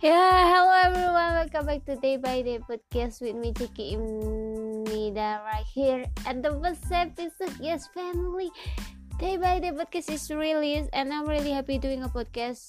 Yeah, hello everyone. Welcome back to Day by Day podcast with me, Ciki Imnida, right here at the first episode. Yes, family. Day by Day podcast is released, and I'm really happy doing a podcast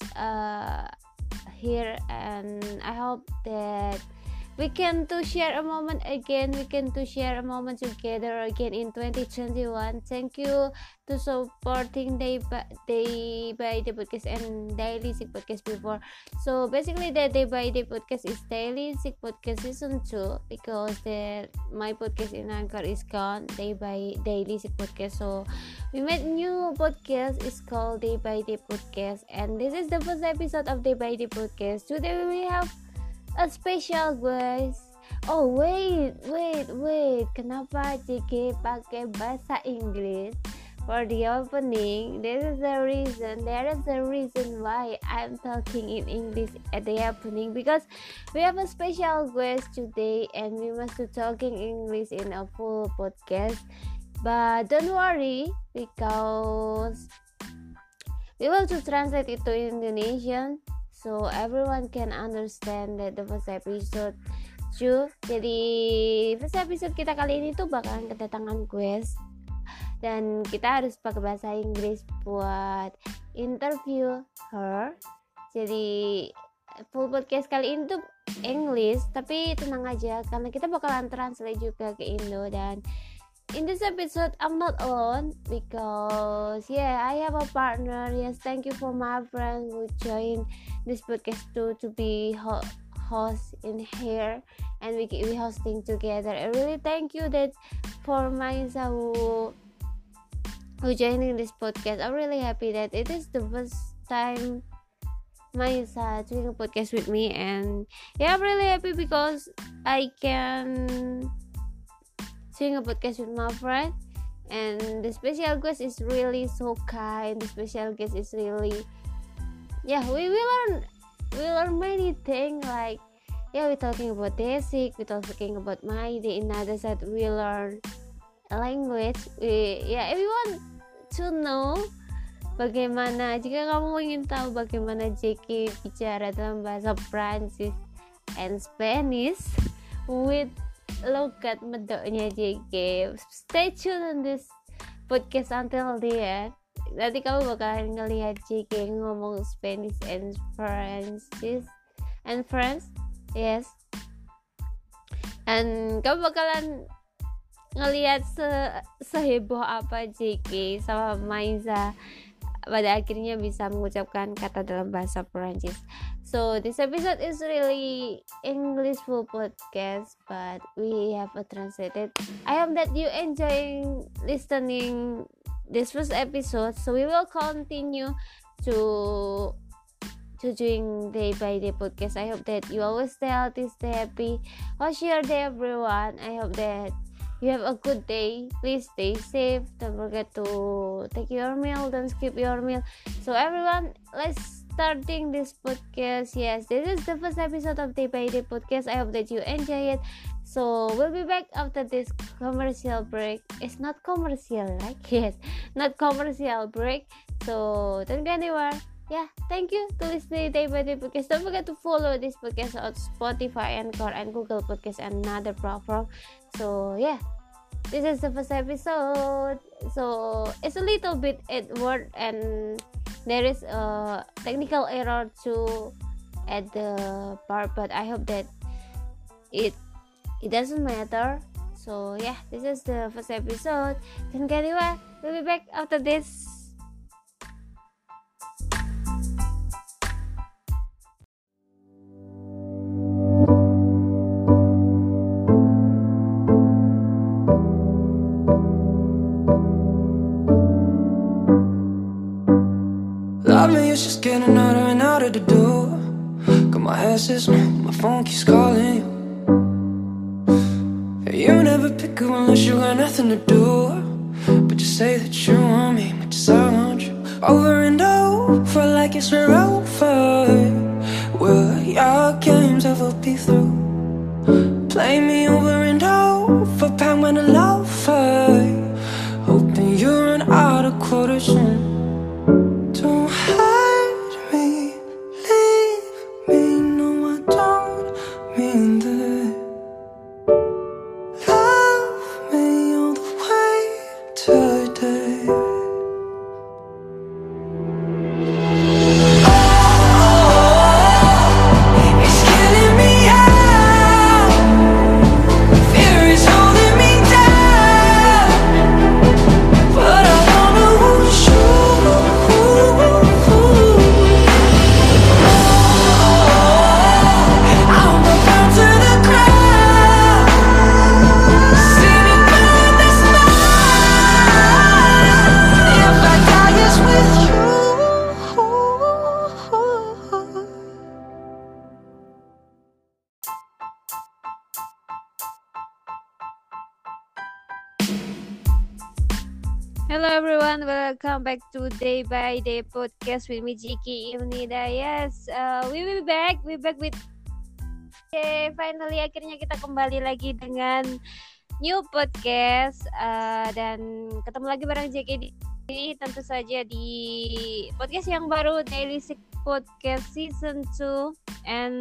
here. And I hope that we can to share a moment again. We can to share a moment together again in 2021. Thank you to supporting Day by Day podcast and Daily Sick podcast before. So basically, the Day by Day podcast is Daily Sick podcast season 2 because my podcast in Anchor is gone. Day by Daily Sick podcast. So we made new podcast. It's called Day by Day podcast, and this is the first episode of Day by Day podcast. Today we have a special guys. Oh wait. Kenapa JK pakai bahasa Inggris for the opening? There is a reason why I'm talking in English at the opening, because we have a special guest today and we must be talking English in a full podcast. But don't worry, because we will to translate it to Indonesian so everyone can understand that the first episode 2. Jadi first episode kita kali ini tuh bakalan kedatangan guest, dan kita harus pakai bahasa Inggris buat interview her. Jadi full podcast kali ini tuh English, tapi tenang aja karena kita bakalan translate juga ke Indo. Dan in this episode I'm not alone because I have a partner. Yes, thank you for my friend who joined this podcast to be host in here, and we hosting together. I really thank you that for Maisa who joining this podcast. I'm really happy that it is the first time Maisa doing a podcast with me, and I'm really happy because I can doing a podcast with my friend, and the special guest is really so kind. The special guest is really we learn many things, like we're talking about basic, we're talking about my day. In other side we learn a language. If you want to know bagaimana, jika kamu ingin tahu bagaimana JK bicara dalam bahasa Prancis and Spanish with logat medoknya JK, stay tuned on this podcast until the end. Nanti kamu bakalan ngelihat JK ngomong Spanish and French, yes. And kamu bakalan ngelihat seheboh apa JK sama Maisa pada akhirnya bisa mengucapkan kata dalam bahasa Perancis. So this episode is really English full podcast, but we have a translated. I hope that you enjoying listening this first episode. So we will continue to doing Day by Day podcast. I hope that you always stay healthy, stay happy. How's your day, everyone? I hope that you have a good day. Please stay safe. Don't forget to take your meal. Don't skip your meal. So everyone, let's starting this podcast. Yes, this is the first episode of Day by Day podcast. I hope that you enjoy it. So we'll be back after this commercial break. It's not commercial, right? Yes, not commercial break. So don't go anywhere. Thank you to listening Day by Day podcast. Don't forget to follow this podcast on Spotify, Anchor, and Google Podcast and another platform. So this is the first episode. So it's a little bit awkward and there is a technical error to at the part, but I hope that it doesn't matter. So this is the first episode. Don't go anywhere. We'll be back after this. It's just getting out and out of the door. Got my head says no, my phone keeps calling you. You never pick up unless you got nothing to do. But you say that you want me, but just I want you. Over and over like it's over. Will your games ever be through? Play me over and over, pack when I love her. Hoping you run out of quarters soon. Don't hide me, leave me, no one welcome back to Day by Day podcast with me Jiki Imnida. Yes, we back with finally akhirnya kita kembali lagi dengan new podcast dan ketemu lagi bareng Jiki tentu saja di podcast yang baru Daily Sick Podcast Season 2 and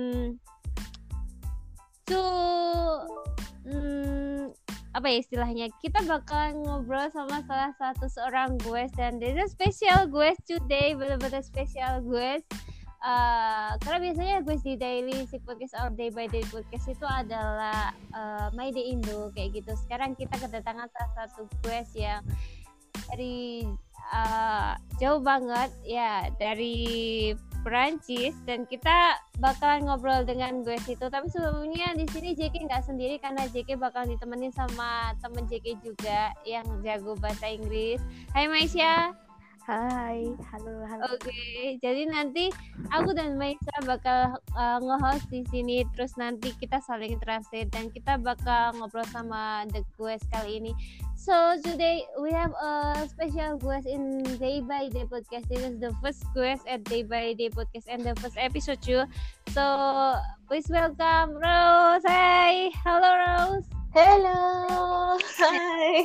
apa ya istilahnya, kita bakal ngobrol sama salah satu seorang guest dan this is special guest today, benar-benar special guest karena biasanya guest di Daily Sick Podcast or Day by Day Podcast itu adalah My Day Indo kayak gitu. Sekarang kita kedatangan salah satu guest yang dari jauh banget ya, dari Perancis, dan kita bakalan ngobrol dengan guest itu. Tapi sebelumnya di sini JK nggak sendiri karena JK bakal ditemenin sama temen JK juga yang jago bahasa Inggris. Hai Maisha. Hai, halo. Oke, jadi nanti aku dan Maisha bakal nge-host di sini, terus nanti kita saling translate dan kita bakal ngobrol sama the guest kali ini. So today we have a special guest in Day by Day Podcast. This is the first guest at Day by Day Podcast and the first episode too. So please welcome Rose. Hi, hello Rose. Hello. Hi.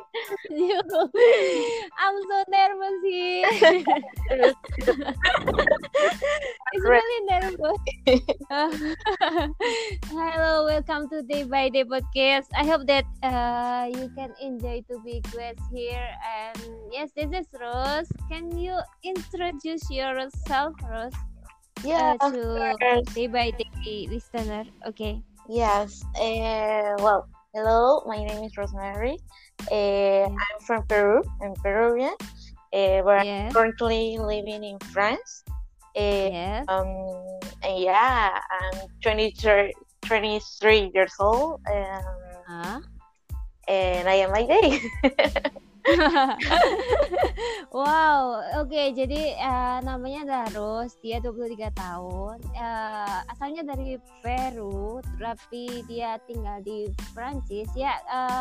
I'm so nervous here. It's really nervous. Hello, welcome to Day by Day Podcast. I hope that you can enjoy to be guest here. And yes, this is Rose. Can you introduce yourself, Rose? Yeah, of to course. Day by Day listener. Okay. Yes. Well, hello. My name is Rosemary. I'm from Peru. I'm Peruvian. But I'm currently living in France. Yes. And yeah, I'm 23 years old. And I am my day. Wow, oke, jadi namanya adalah Rose, dia 23 tahun, asalnya dari Peru, tapi dia tinggal di Prancis. Ya,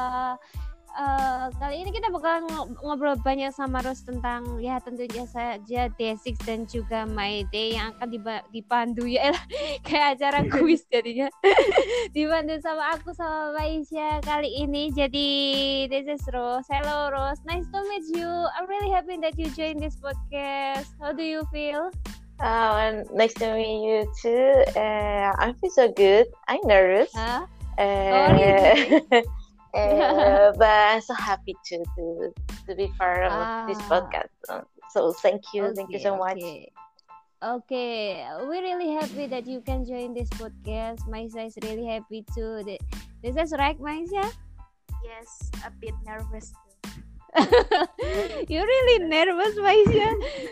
kali ini kita bakal ngobrol banyak sama Rose tentang ya tentunya saja Day6 dan juga My Day yang akan dipandu ya kayak acara kuis jadinya dipandu sama aku sama Maisha kali ini. Jadi this is Rose. Hello Rose, nice to meet you. I'm really happy that you joined this podcast. How do you feel? And nice to meet you too. I feel so good. I'm nervous. Huh? Really? But I'm so happy to be part of this podcast. So thank you so much. Okay, we're really happy that you can join this podcast. Maisha is really happy too. This is right, Maisha? Yes, a bit nervous too. You're really nervous, Maisha.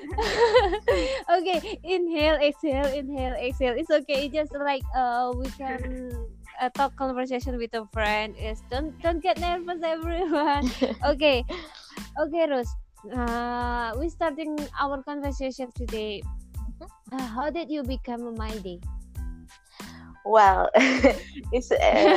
Okay, inhale, exhale. It's okay. Just like we can talk conversation with a friend. Yes, don't get nervous, everyone. Okay, Rose. We're starting our conversation today. How did you become a My Day? Well, it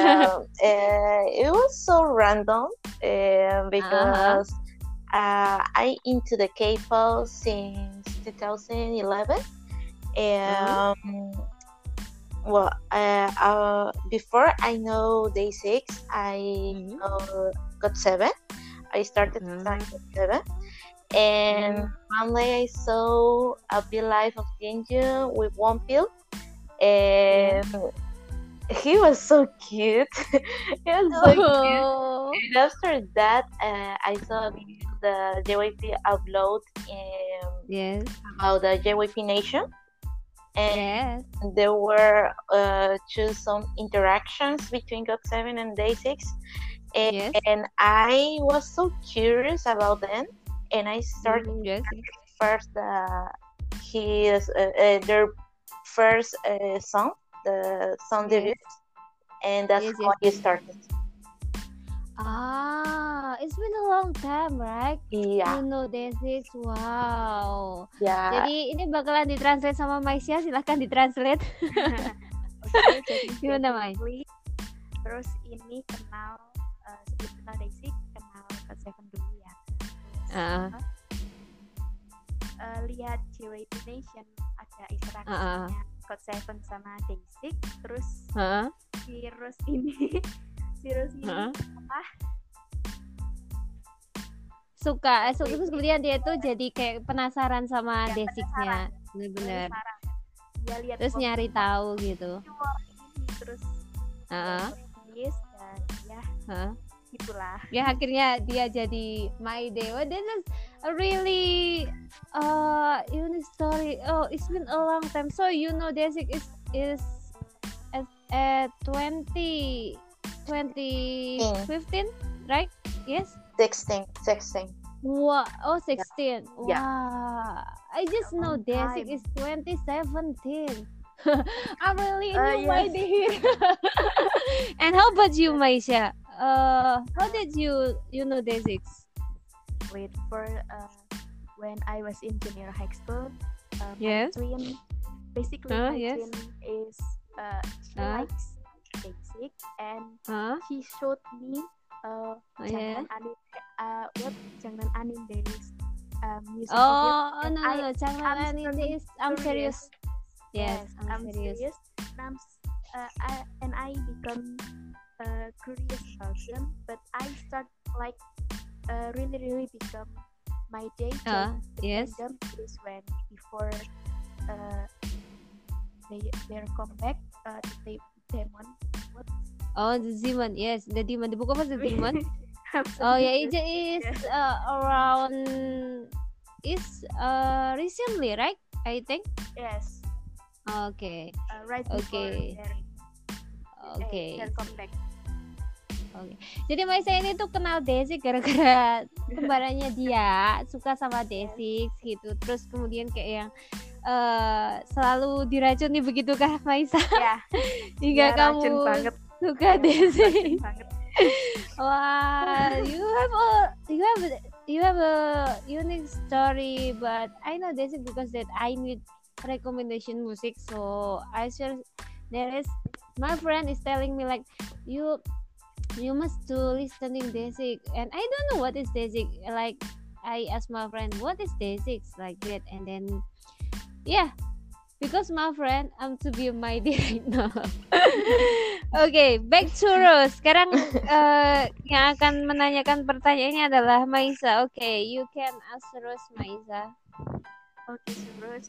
was so random because I into the K-pop since 2011, and well, before I know Day6, I know GOT7. I started GOT7, and one day I saw a Be Life of Jinju with Wonpil, and he was so cute. Cute. And after that, I saw the JYP upload about the JYP Nation. And there were some interactions between GOT7 and Day6, and I was so curious about them, and I started first their first song, the song debut, and that's how I started. It's been a long time, right? Iya. You know Day6, wow. Ya. Jadi ini bakalan ditranslate sama Maisha, silahkan ditranslate. Oke, jadi gimana Mai? Terus ini sebelum kenal Day6, kenal GOT7 dulu ya. lihat JYP Nation ada interaksinya GOT7 sama Day6, terus si Rose ini apa suka terus kemudian dia tuh jadi kayak penasaran sama Day6-nya, benar-benar dia lihat terus nyari tahu gitu, terus dan ya itulah ya akhirnya dia jadi My Day. Oh, this is a really unique story. Oh, it's been a long time. So you know Day6 is at 2015, right? Yes. 16. Wow. Oh, 16. Yeah. Wow. I just know Day6 is 2017. I really knew My Day here. And how about you, Maisha? How did you know Day6? Wait for when I was in junior high school. Yes. My twin, basically my twin is she likes Day6 and she showed me Jangan Anime Days music video. No, Jangan Anime Days. I'm serious. Yes, I'm serious. And I become a curious person, but I start like really become My Day. Yes. Is when before their comeback, the demon. What? Oh, the demon. Yes, the demon. The book of the demon. Oh yeah, it is around recently, right? I think. Yes. Okay. Right before their comeback. Oke. Jadi Maisa ini tuh kenal Day6 gara-gara kembarannya dia suka sama Day6 gitu. Terus kemudian kayak yang selalu diracuni begitukah Maisa? Ya. Hingga kamu suka Day6. Wah, you have a unique story, but I know Day6 because that I need recommendation music, so I share. There is my friend is telling me like you must do listening Day6, and I don't know what is Day6. Like I asked my friend what is Day6 like that, and then because my friend I'm to be My Day right now. Okay, back to Rose. Sekarang yang akan menanyakan pertanyaannya adalah Maisa. Okay, you can ask Rose, Maisa. Okay, so Rose,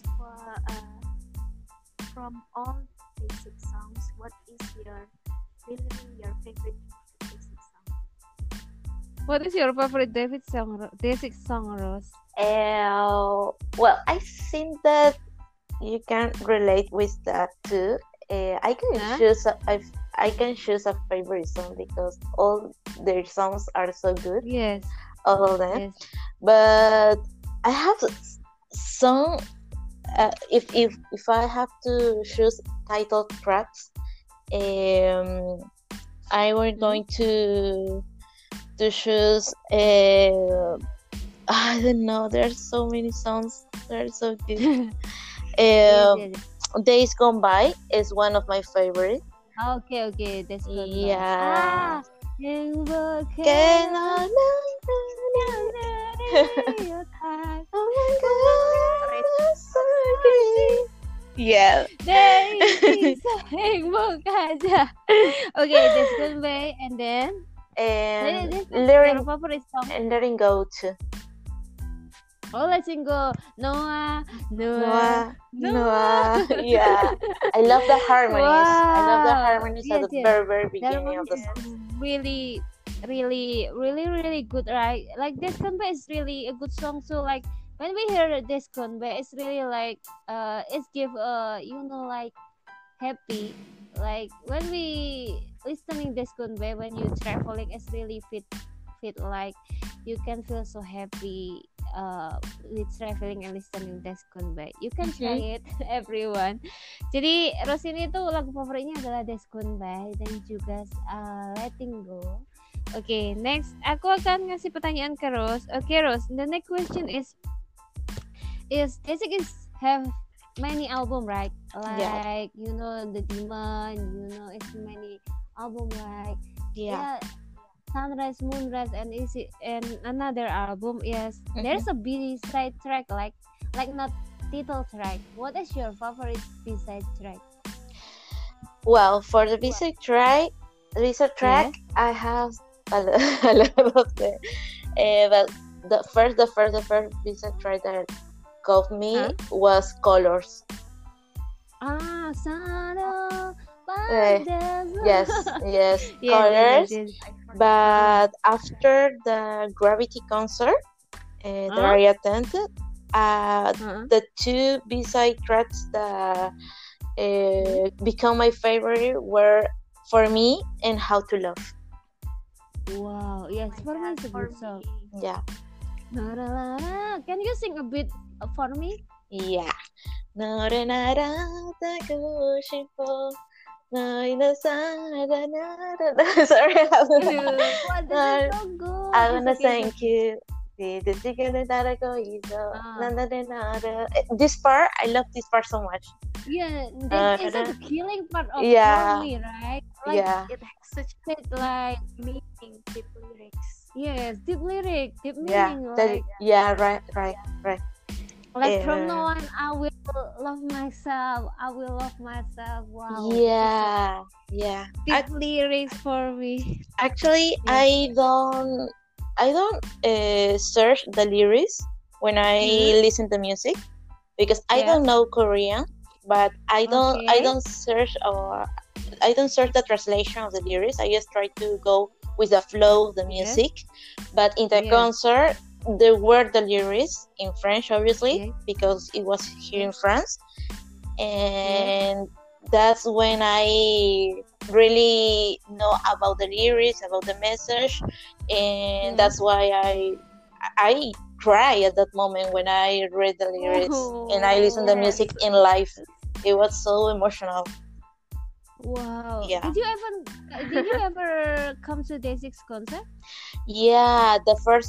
from all Day6 songs, what is your favorite Day6 song? What is your favorite Day6 song, Rose? Well, I think that you can relate with that too. I can choose a favorite song because all their songs are so good. Yes. All of them. Yes. But I have some. If I have to choose title tracks, I was going to choose. I don't know. There's so many songs. They're so good. Days Gone By is one of my favorites. Okay, Days Gone By. Yeah. Yeah. Okay, Days Gone By, and then Letting Go too. Oh, Letting Go. Noah. Yeah. I love the harmonies. Wow. I love the harmonies at the very beginning of the song. Really good, right? Like Days Gone By is really a good song. So like when we hear Days Gone By, it's really like it's give like happy. Like when we listening Days Gone By when you traveling, it's really fit like you can feel so happy with traveling and listening Days Gone By. You can try it, everyone. Jadi Rose ini tuh lagu favoritnya adalah Days Gone By dan juga Letting Go. Okay, next aku akan ngasih pertanyaan ke Rose. Okay, Rose, the next question is Day6 have many album, right? Like the Demon, it's many album, like Sunrise, Moonrise, and another album. Yes, there's a B side track like like not title track. What is your favorite B-side track? Well, for the B-side track, I have a lot of them. But the first B-side track that got me was Colors. Yes, Colors. Yes. But after the Gravity concert that I attended, the two B-side tracks that become my favorite were For Me and How to Love. Wow, yes, For Me is a good song. Yeah. Can you sing a bit For Me? Yeah. Sorry, this is so good. I wanna thank you. This part, I love this part so much. Yeah, this is the killing part of For Me, right? Like, it has such like meaning, deep lyrics. Yes, deep lyric, deep meaning. Right. Like from now on, I will love myself. Wow. Yeah. Deep lyrics For Me. Actually, I don't search the lyrics when I listen to music because I don't know Korean, but I don't search the translation of the lyrics. I just try to go with the flow of the music. But in the concert, there were the lyrics in French, obviously, because it was here in France, and that's when I really know about the lyrics, about the message, and that's why I cry at that moment when I read the lyrics and I listen to the music in live. It was so emotional. Wow. Yeah. Did you ever come to Day6 concert? Yeah, the first,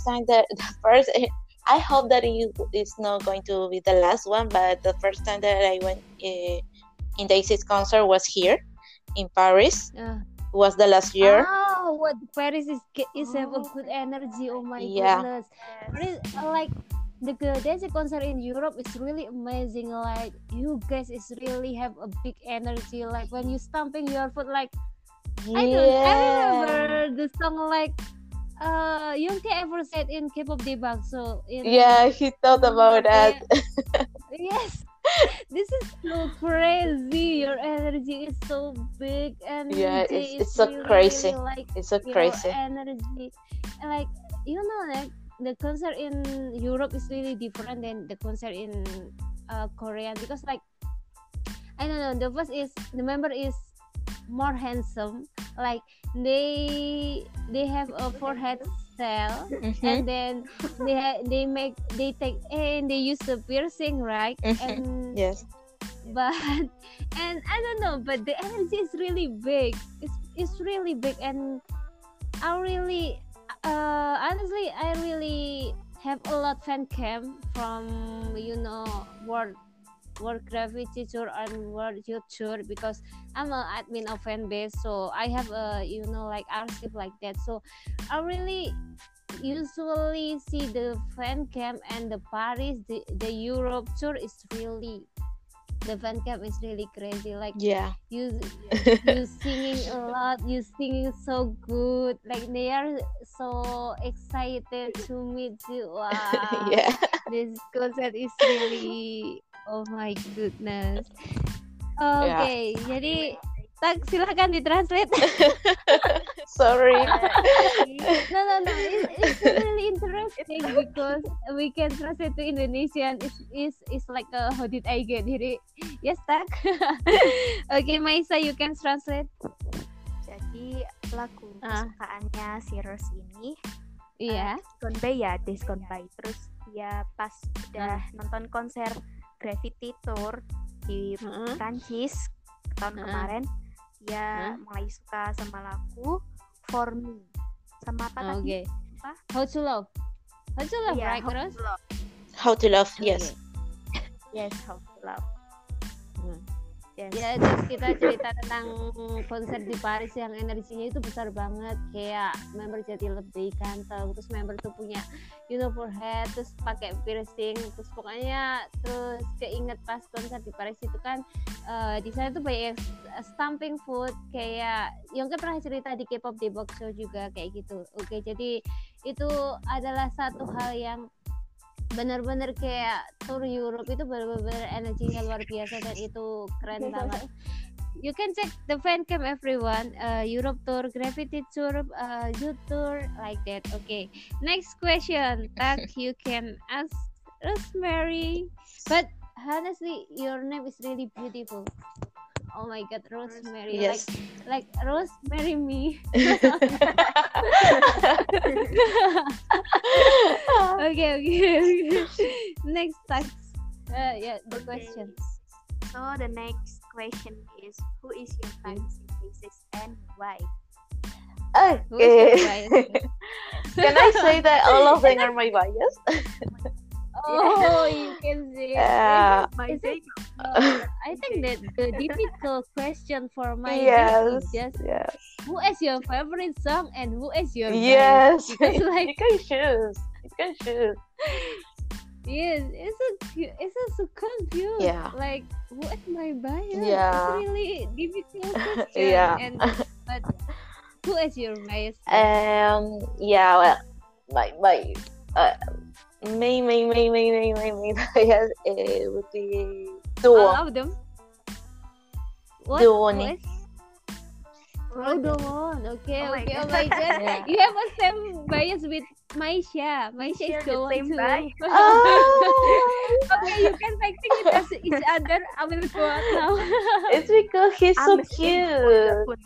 I hope that it's not going to be the last one, but the first time that I went in Day6 concert was here in Paris. Was the last year. Oh, what Paris is have a good energy. Oh my goodness. Like the Day6 concert in Europe is really amazing. Like you guys is really have a big energy. Like when you stomping your foot, like I remember the song like Youngtae ever said in K-pop debug. So he thought about that. Yes. This is so crazy. Your energy is so big, and it's so really, crazy. Like, it's so crazy. Energy, and like like the concert in Europe is really different than the concert in Korea, because like I don't know, the member is more handsome. Like they have a forehead style, and then they take and they use the piercing, right? And but and I don't know, but the energy is really big. It's really big, and I really honestly I really have a lot fan cam from World Gravity Tour and World Youth Tour, because I'm an admin of fan base, so I have a like archive like that. So I really usually see the fan cam and the Paris, the Europe tour is really, the fan cam is really crazy. Like you singing a lot, you singing so good. Like they are so excited to meet you. Wow, this concert is really. Oh my goodness. Okay, jadi silakan ditranslate. Sorry. No. It's really interesting because we can translate to Indonesian. It's like how did I get here? Yes, tak. Okay, Maisa, you can translate. Jadi lagu kesukaannya si Rose ini, Discount Buy. Terus dia pas udah nonton konser Gravity Tour di Prancis tahun kemarin, dia mulai suka sama lagu For Me sama apa tadi? How to Love, right? How to Love, yes. Yes, How to Love. Yes. Ya, terus kita cerita tentang konser di Paris yang energinya itu besar banget, kayak member jadi lebih ganteng, terus member tuh punya forehead, terus pakai piercing, terus pokoknya terus keinget pas konser di Paris itu kan di sana tuh banyak stamping food, kayak Yongke pernah cerita di K-pop di box show juga kayak gitu. Oke, jadi itu adalah satu hal yang benar-benar kayak tour Europe itu benar-benar energinya luar biasa dan itu keren banget. You can check the fan cam everyone, Europe tour, Gravity tour, Youth tour, like that. Okay, next question that you can ask Rosemary, but honestly your name is really beautiful. Oh my God, Rosemary, Yes. like Rosemary me. Okay. Next task. Yeah, the question. So the next question is, who is your fancy bassist and why? Who is your Okay. bias? Can I say that all of them are my bias? Oh, you can say. My Is it? favorite. I think that the difficult question for my Yes. is just Yes. who is your favorite song and who is your Yes. bias? Because like You can choose. You can choose. yes, it's so confused. Yeah. Like who is my bias? Yeah. It's really difficult question. Yeah. And but who is your bias? Yeah. Well, my main bias would be All Duo. of them. What? Duo Who nih. is? Oh, Dawon. Okay, Oh my okay. Oh God. my God. Yeah. You have a same bias with Maisha. Maisha is share the Dawon same too. bias. Oh, Okay, you can fighting it as each other. I will go out now. it's because he's so I'm cute.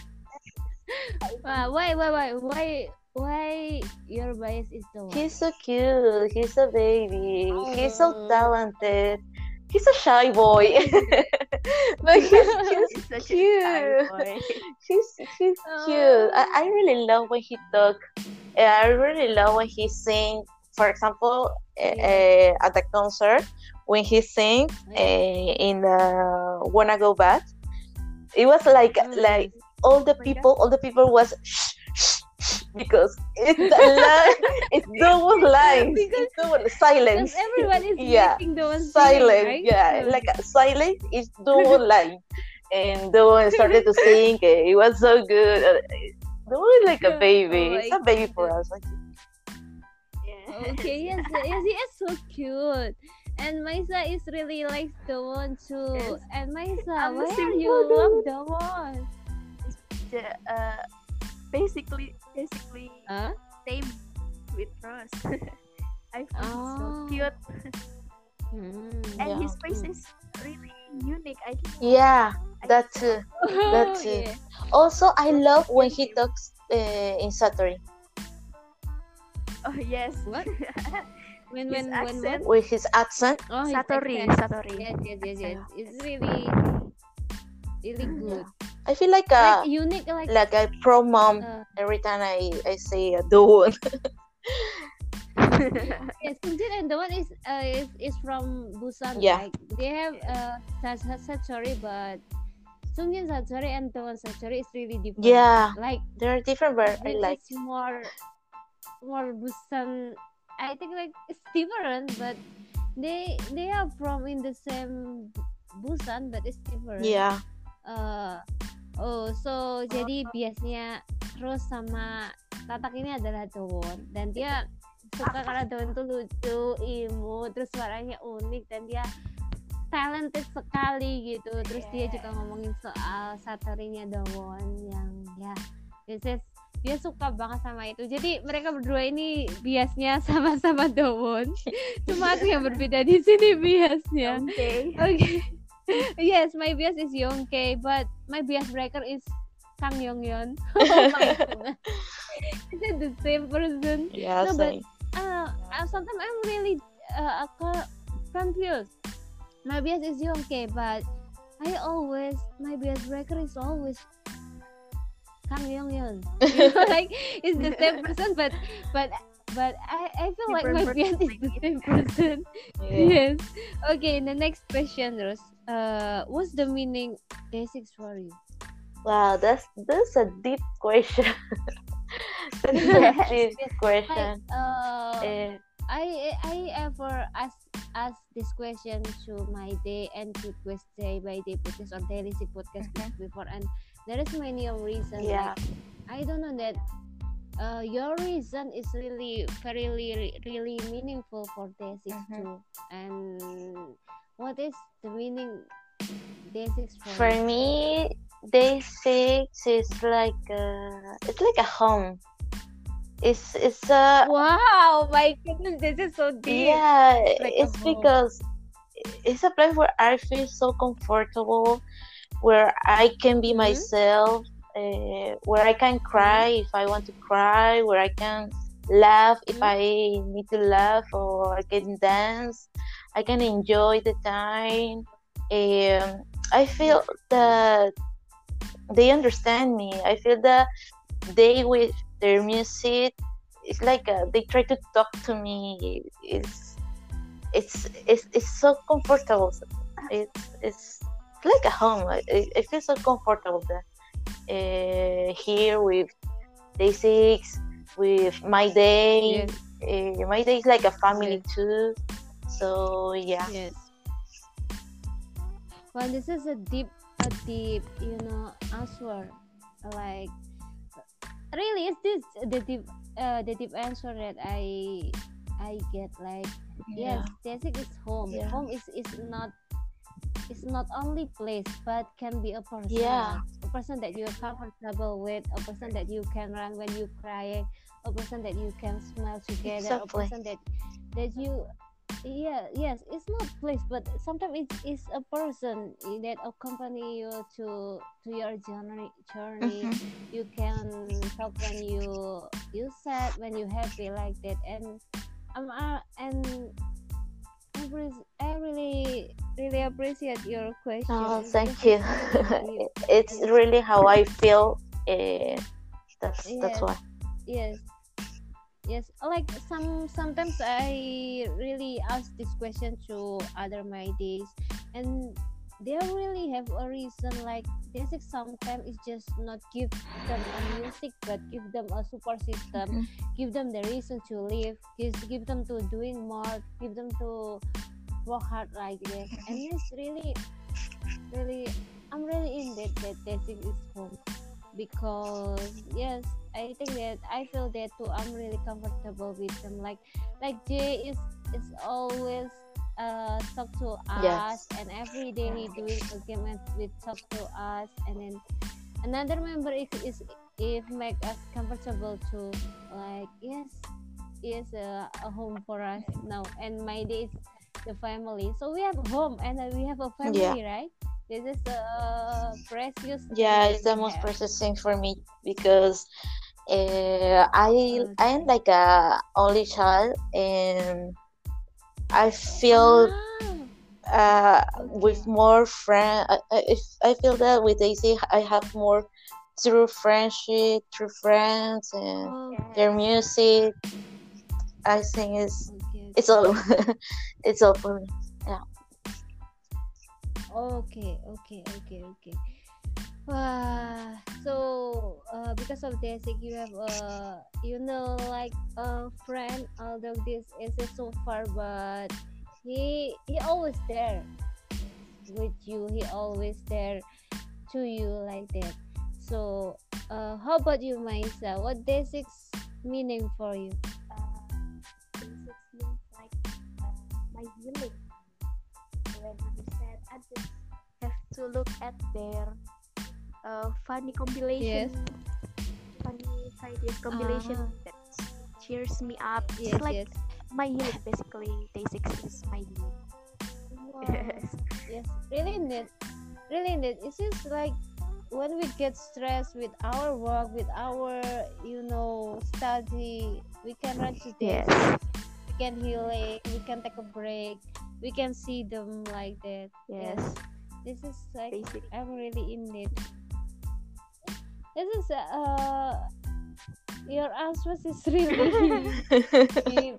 Why your bias is Dawon? He's so cute. He's a baby. He's so Oh. talented. He's a shy boy. But he's He's such a shy cute. boy. He's cute. I really love when he talk. I really love when he sing. For example, at the concert when he sing in the "Wanna Go Back," it was like all the people was shh, shh, shh, because it's it's double lines. Because- It's double silence. Because everyone is Yeah. making Dawon Silent, right? yeah, like silent is double line, and the one started to sing. It was so good. The one is like a baby. Oh It's my a baby for us. Yeah. Okay, yes, he is so cute. And Maisa is really likes Dawon too. Yes. And Maisa, I'm the why same are you for love Dawon? The, basically Huh? same with Rose. I find it so Oh. cute, and Yeah. his face is really unique. I think. Yeah, that too. That's it. Yeah. Also, I love when he talks in Satori Oh yes. What? When His what? accent. with his accent. Oh, his Satori. accent. Satori. Yes. It's really good. I feel like Like a unique, like a pro mom every time I say the one. yes, Sunjin and the one is from Busan. Yeah. Like they have Satori, but Sungjin Satori and Dawon Satori is really different. Yeah, Like they're different, but I it like. is more Busan. I think like it's different, but they are from in the same Busan, but it's different. Yeah. So jadi biasanya Rose sama Tatak ini adalah Dawon, dan dia suka karena Dawon tuh lucu, imut, terus suaranya unik, dan dia talented sekali gitu. Terus dia juga ngomongin soal Satorinya Dawon yang ya dia suka banget sama itu. Jadi mereka berdua ini biasnya sama-sama Dawon. Cuma aku yang berbeda di sini biasnya. Okay. Okay. Yes, my bias is Youngke, but my bias breaker is Kang Yongyeon. Oh my goodness. Is it the same person? Yeah, No, but same. sometimes I'm really confused. My bias is Youngke, but my bias breaker is always Kang Yongyeon. You know, like it's the same person, but I feel like my Different bias is the same person. Yeah. Yes. Okay, the next question, Rose. what's the meaning day 6 for you? Wow, that's a deep question. That's a deep question. I ever ask this question to my day and to quest day by day podcast or daily sick podcast before, and there is many of reasons. Yeah. Like, I don't know that your reason is really very really meaningful for day 6 too. And what is the meaning day 6 For you? me, day 6 is like it's like a home. It's a wow, my goodness, this is so deep. Yeah, it's because it's a place where I feel so comfortable, where I can be myself, where I can cry if I want to cry, where I can laugh if I need to laugh, or I can dance. I can enjoy the time. I feel that they understand me. I feel that they, with their music, it's like they try to talk to me. It's so comfortable. It's like a home. I feel so comfortable there. Here with day 6, with my day. My day is like a family too. So yeah. Yes. Well, this is a deep, answer. Like, really, is this the deep answer that I get? Like, yes, day 6 is home. Yeah. Home is not. It's not only place, but can be a person. Yeah. A person that you're comfortable with, a person that you can run when you're crying, a person that you can smile together, Exactly. a person that you. Yes, it's not place, but sometimes it's a person that accompany you to your journey. You can talk when you sad, when you happy, like that. And I really appreciate your question. Oh, thank you. It's really how I feel. That's why. Yes, like sometimes I really ask this question to other my days, and they really have a reason. Like, this is sometimes it's just not give them a music, but give them a support system, give them the reason to live, give them to doing more, give them to work hard like this. And it's really I'm really in that dancing is home, because yes, I think that I feel that too. I'm really comfortable with them. Like Jay is always talk to us, and every day he doing a game with talk to us, and then another member is make us comfortable too. Like, yes, a home for us now. And my day is the family. So we have home and we have a family, right? This is a precious. Yeah, it's the most precious thing for me, because I'm like a only child, and I feel with more friends. I feel that with Daisy, I have more true friendship, true friends, and their music. I think it's all it's all for me. Yeah. Okay. So because of this, you have like a friend, although this is so far, but he always there with you. He always there to you, like that. So how about you, Maisa? What day 6 meaning for you? Day 6 means like my healing. When you said, I just have to look at their funny compilation, funny ideas compilation that cheers me up. It's like my healing, basically. Day 6 is my healing. Wow. Yes, really neat. It's just like when we get stressed with our work, with our study, we can run to this. We can heal it. We can take a break. We can see them like that. Yes. This is like basic. I'm really in it. This is Your answer is really deep.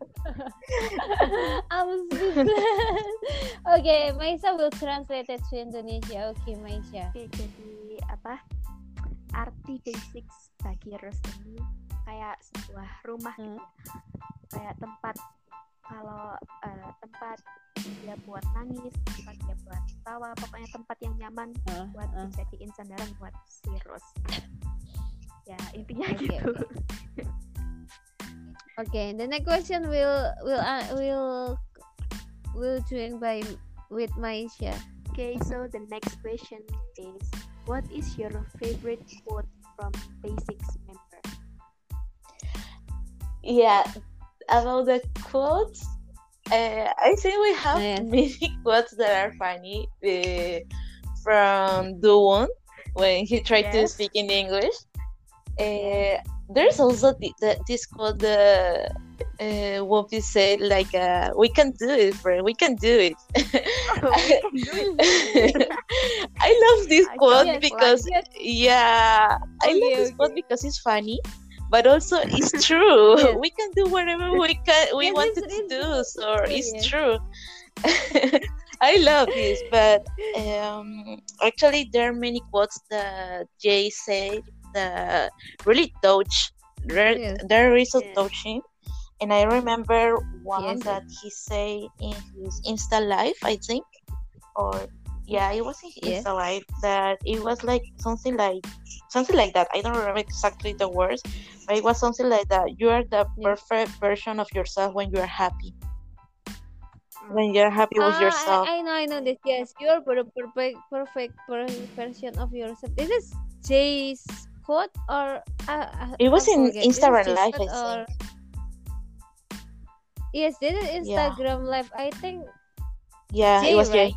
I'm speechless. Okay, Maisha will translate it to Indonesia. Okay, Maisha. Oke, jadi apa? Arti basics bagi Rose ini kayak sebuah rumah gitu. Kayak tempat kalau tempat dia buat nangis, tempat dia buat tawa, pokoknya tempat yang nyaman buat dijadiin sandaran buat si Rose. Ya, intinya gitu. Okay, the next question will join by with Maisha. Okay, so the next question is, what is your favorite quote from Basics member? Yeah, about the quotes, I think we have many quotes that are funny. From Do-won when he tried to speak in English. There's also this quote Whoopi said, like, we can do it, friend, we can do it. I love this quote because I love this quote because it's funny, but also it's true. We can do whatever we wanted to do, so it's true. I love this, but actually there are many quotes that Jay said that really touch. They're really so touching. And I remember one that he said in his Insta Live, I think, or it was in Insta Live, that it was like something like that. I don't remember exactly the words, but it was something like that. You are the perfect version of yourself when you are happy. When you're happy with yourself. I know this. Yes, you're the perfect version of yourself. This is Jay's quote, or it was in Instagram Live, I think. Yes, this is Instagram Live. I think. Yeah, Jay, it was right? Jay.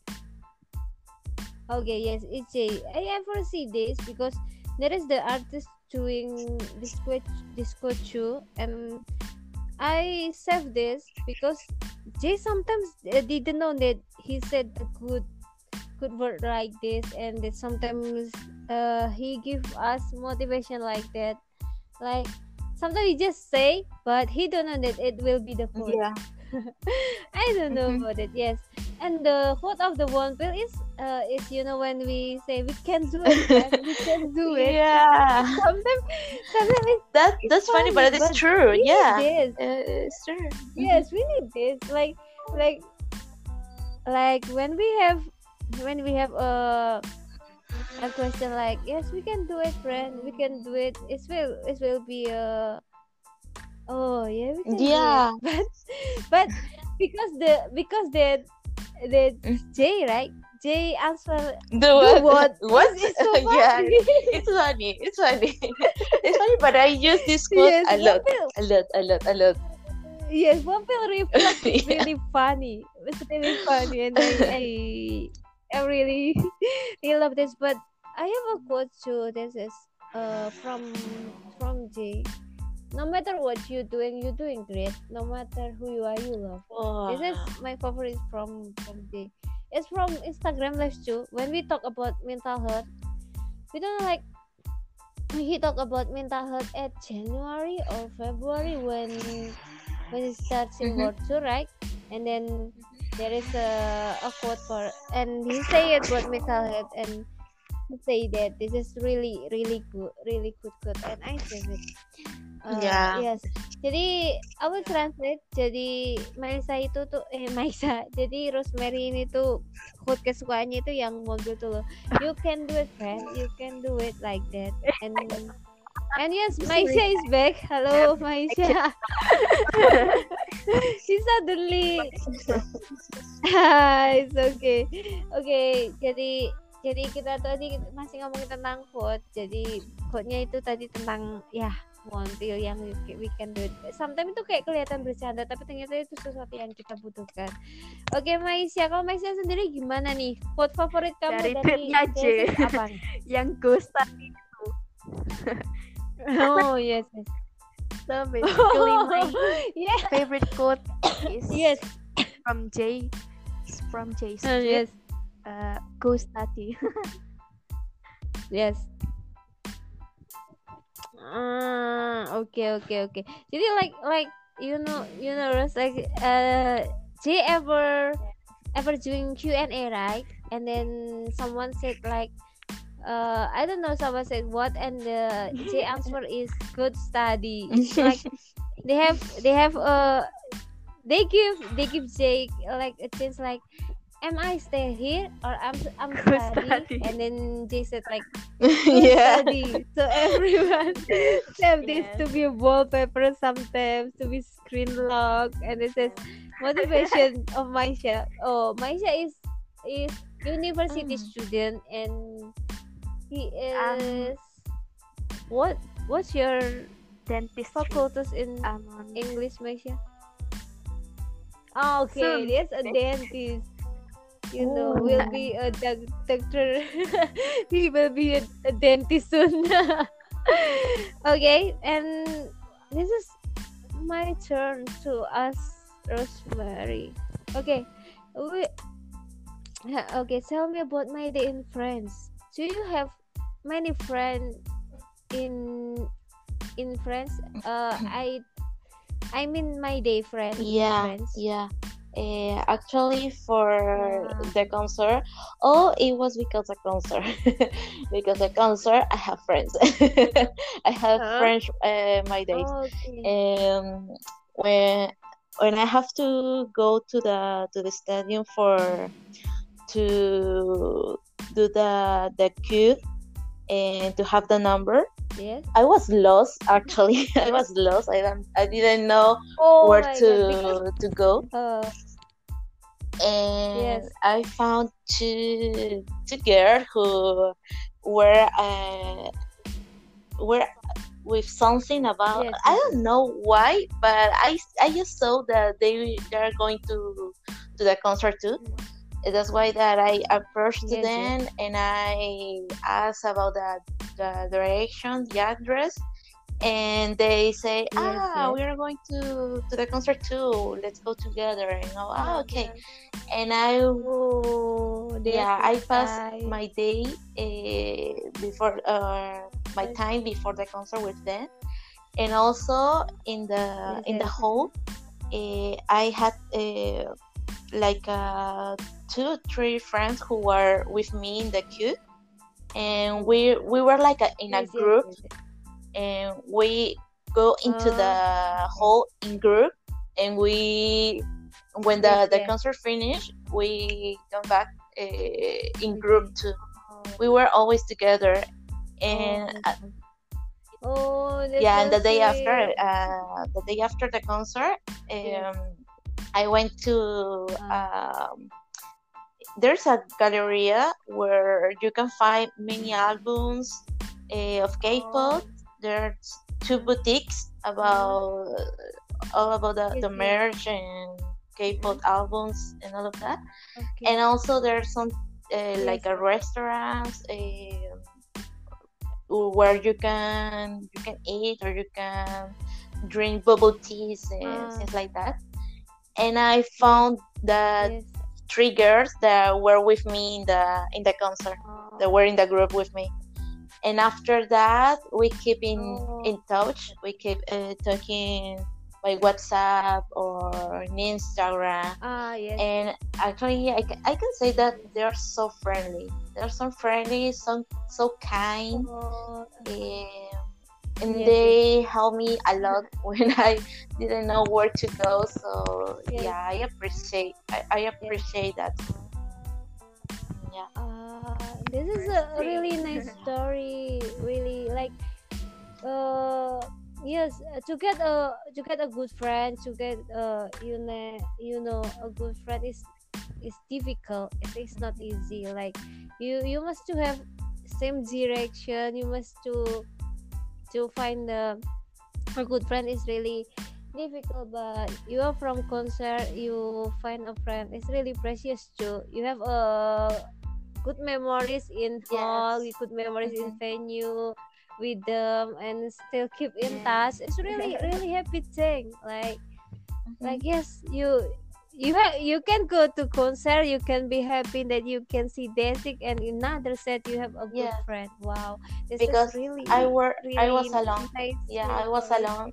Okay, yes, it's Jay. I ever see this because there is the artist doing this quote too, and I saved this because Jay sometimes didn't know that he said a good word like this, and that sometimes he give us motivation like that. Like sometimes he just say, but he don't know that it will be the quote. Yeah. I don't know about it. Yes, and the quote of the Wonpil is when we say we can do it, right? We can do it. Yeah. Sometimes that's funny, but it's true. Yeah. It's true. Yes, we need this. Like when we have a question like, yes, we can do it, friend, we can do it. It will be a we can do it. But because that Jay, right? Jay answer the what? What? It's so funny. Yeah, it's funny. It's funny, but I use this quote a lot. Yes, Wonpil reflect is really funny. It's really funny, and I really love this. But I have a quote too. This is from Jay. No matter what you're doing great. No matter who you are, you love. Oh. This is my favorite from Jay. It's from Instagram Live too. When we talk about mental health, we don't like. He talk about mental health at January or February when it starts in World Tour, right? And then there is a quote for, and he say it about mental health, and he say that this is really good quote, and I say it. Yes. Jadi I will translate. Jadi jadi Rosemary ini tuh quote kesukaannya itu yang mobil tuh loh. You can do it, friend. You can do it like that. And yes, Maisha is back. Hello, Maisha. She suddenly. It's okay. Okay, jadi kita tadi masih ngomongin tentang quote. Jadi quote-nya itu tadi tentang Wonpil yang we can do it. Sometimes itu kayak kelihatan bercanda, tapi ternyata itu sesuatu yang kita butuhkan. Oke, Maisha, kalau Maisha sendiri gimana nih? Quote favorit kamu dari Jay apa nih? Yang ghost tadi itu. Oh yes. So basically my favorite quote is from Jay. It's from Jay. Yes. Ghost tadi. Yes. Okay. Jadi like Rose, like Jay ever doing Q&A, right? And then someone said like I don't know, someone said what, and the J answer is good study. It's like they have they give Jake like a chance, like, am I stay here or I'm Good study? study. And then Jay said like good Yeah. study. So everyone have this Yes. to be a wallpaper, sometimes to be screen lock, and it says motivation of Maisha. Oh, Maisha is university student, and he is what's your Dentistry. faculties in On English, Maisha? Oh, okay, Soon. there's a dentist. Will be a doctor. He will be a dentist soon. Okay, and this is my turn to ask Rosemary. Okay, okay. Tell me about my day in France. Do you have many friends in France? I mean my day friend in Yeah, France. yeah. Actually, for Yeah. the concert, it was because of concert. Because of concert, I have friends. I have Huh? friends my days. Okay. When I have to go to the stadium to do the queue and to have the number, Yes. I was lost. Actually, I was lost. I didn't know Oh where my God, to go. because And yes, I found two girls who were were with something about, yes, I don't know why, but I just saw that they are going to the concert too. And that's why that I approached to yes, them and I asked about the direction, the address, and they say, yes. we are going to the concert too. Let's go together. And okay. And I Oh, yeah, I passed nice. my day before my time before the concert with them, and also in the Yes. hall, I had like 2-3 friends who were with me in the queue, and we were like in a Yes, group, yes. and we go into the hall in group, and we when the Yes. concert finished, we come back in group too. We were always together, and That's yeah, so and the day sweet. after the concert, Yes. I went to there's a galleria where you can find many albums of K-pop. There's 2 boutiques about all about the Yes. merch and K-pop albums and all of that. Okay. And also there's some like Yes. a restaurant where you can eat or you can drink bubble teas and things like that. And I found that Yes. 3 girls that were with me in the concert, that were in the group with me. And after that, we keep in touch. We keep talking by WhatsApp or in Instagram. Yes. And actually, I can say that they're so friendly. They're so friendly, so kind, and they help me a lot when I didn't know where to go. So yeah, I appreciate that. Yeah. This is a really nice story. Really, like, yes, to get a good friend, to get a good friend is difficult. It is not easy. Like, you must to have same direction. You must to find a good friend is really difficult. But you are from concert, you find a friend. It's really precious too. You have good memories in hall, good memories in venue with them, and still keep in touch. It's really really happy thing. Like yes, you you can go to concert, you can be happy that you can see Desik, and in another set you have a good Yeah, friend. Wow, this because is really I was really alone. nice Yeah, I was story. alone.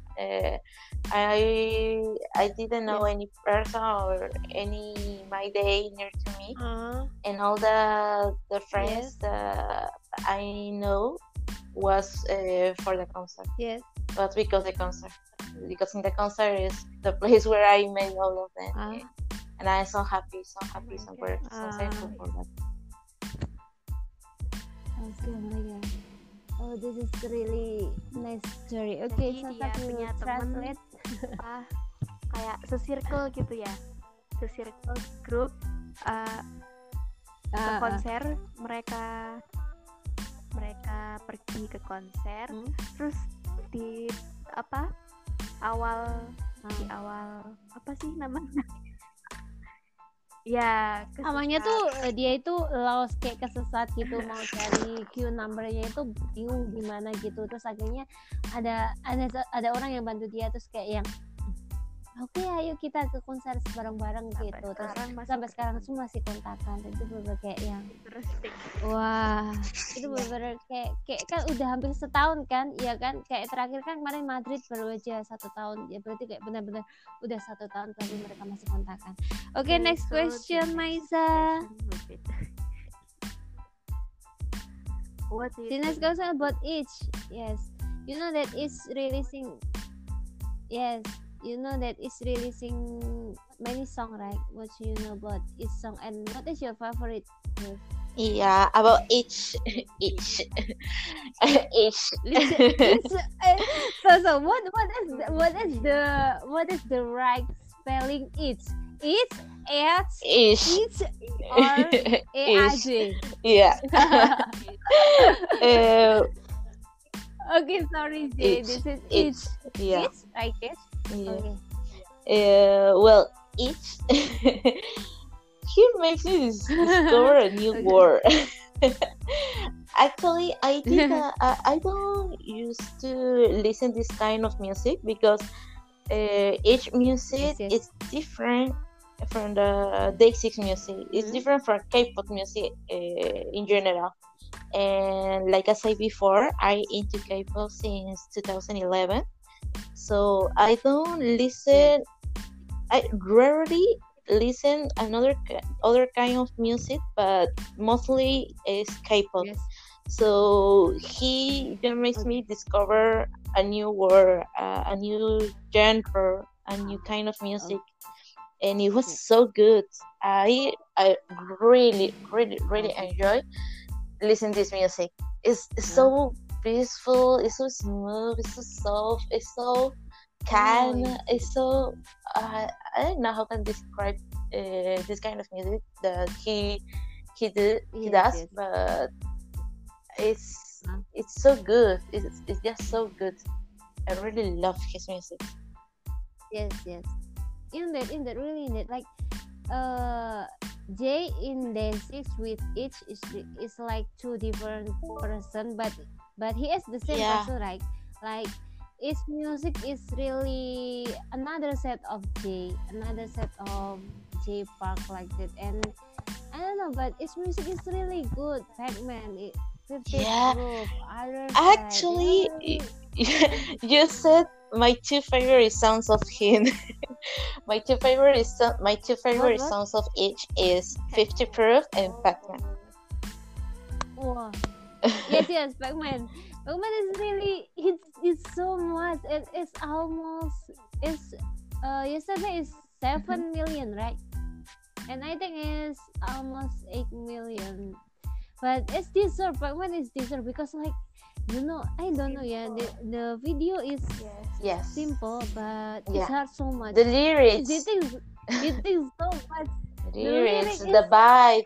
I didn't know Yes. any person or any my day near to me, Uh, and all the yes. friends that I know was for the concert. Yes. But because the concert, because in the concert is the place where I met all of them, Ah. and I'm so happy, so Oh happy, my so god. thankful for that. Okay, oh my god. Oh, this is really nice story. Okay, Jadi so dia punya temen translate. kayak se-circle gitu ya, se-circle grup ke konser, mereka pergi ke konser, terus di awal apa sih namanya? Ya, Namanya tuh dia itu lost, kayak kesesat gitu, mau cari queue numbernya itu bingung gimana gitu, terus akhirnya ada orang yang bantu dia, terus kayak yang oke, ayo kita ke konser bareng-bareng gitu. Terus sampai sekarang tuh masih kontakan. Itu bener kayak yang interesting. wah, itu bener kayak kan udah hampir setahun kan, ya kan? Kayak terakhir kan kemarin Madrid baru aja 1 tahun, ya berarti kayak benar-benar udah 1 tahun tapi mereka masih kontakan. Oke, next question, Maisa. The next question about each. Yes, you know that it's releasing. Yes. You know that it's releasing many songs, right? What you know about each song, and what is your favorite? Yeah, about each. So what is the right spelling? Each, or A-I-J? Yeah. Okay, sorry, Jay. This is each. Yeah. Each, I guess. Yeah. Okay. Well, each. Here makes me discover a new word. Actually, I think I don't used to listen this kind of music because each music is different from the Day6 music. It's different from K-pop music in general. And like I said before, I into K-pop since 2011. So I don't listen. I rarely listen other kind of music, but mostly is K-pop. Yes. So he just makes me discover a new word, a new genre, a new kind of music, and it was so good. I really enjoy listening to this music. It's so peaceful, it's so smooth, it's so soft, it's so calm, it's so I don't know how can describe this kind of music that he does, but it's so good. It's just so good. I really love his music. Yes. In that really like Jay in Day6 with each is like 2 different person, but he is the same person, right? Like his music is really another set of J Park like that, and I don't know, but his music is really good. Pac-Man, 50 Groove, other actually side, you said my 2 favorite songs of him. My two favorite songs of each is 50 Proof and Pac-Man. Wow. Yes, Pac-Man. Pac-Man is really it's so much. It's almost yesterday is 7 million, right? And I think it's almost 8 million. But it's deserved. Pac-Man is deserved because like I don't know. Yeah, the video is simple, but it's hard so much. The lyrics, it is so much. The lyrics, the vibe.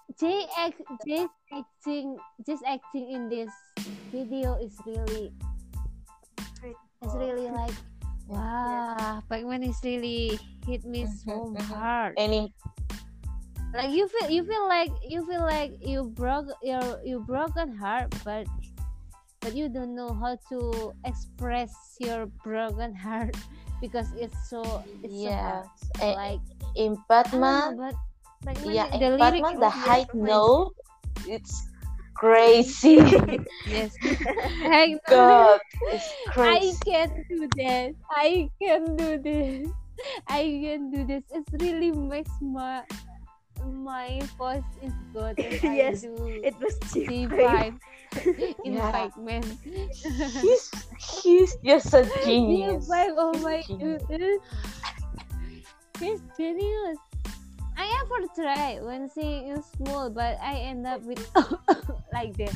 Just acting in this video is really, it's really like wow. Pac-Man is really hit me so hard. Like you feel like you broke your broken heart, but but you don't know how to express your broken heart because it's so Yes. hard. Like In I don't know, Batman, but like when yeah, the in lyric Batman, the was high so nice. note, it's crazy. Yes, I know. God, it's I crazy. can't do that. I can do this. I can do this. It really makes my voice is good if Yes, I do it was C5 G5. in Yeah. Pac-Man. He's just a genius. C5, oh He's a my genius. goodness. He's genius. I ever try when singing in small, but I end up with like this.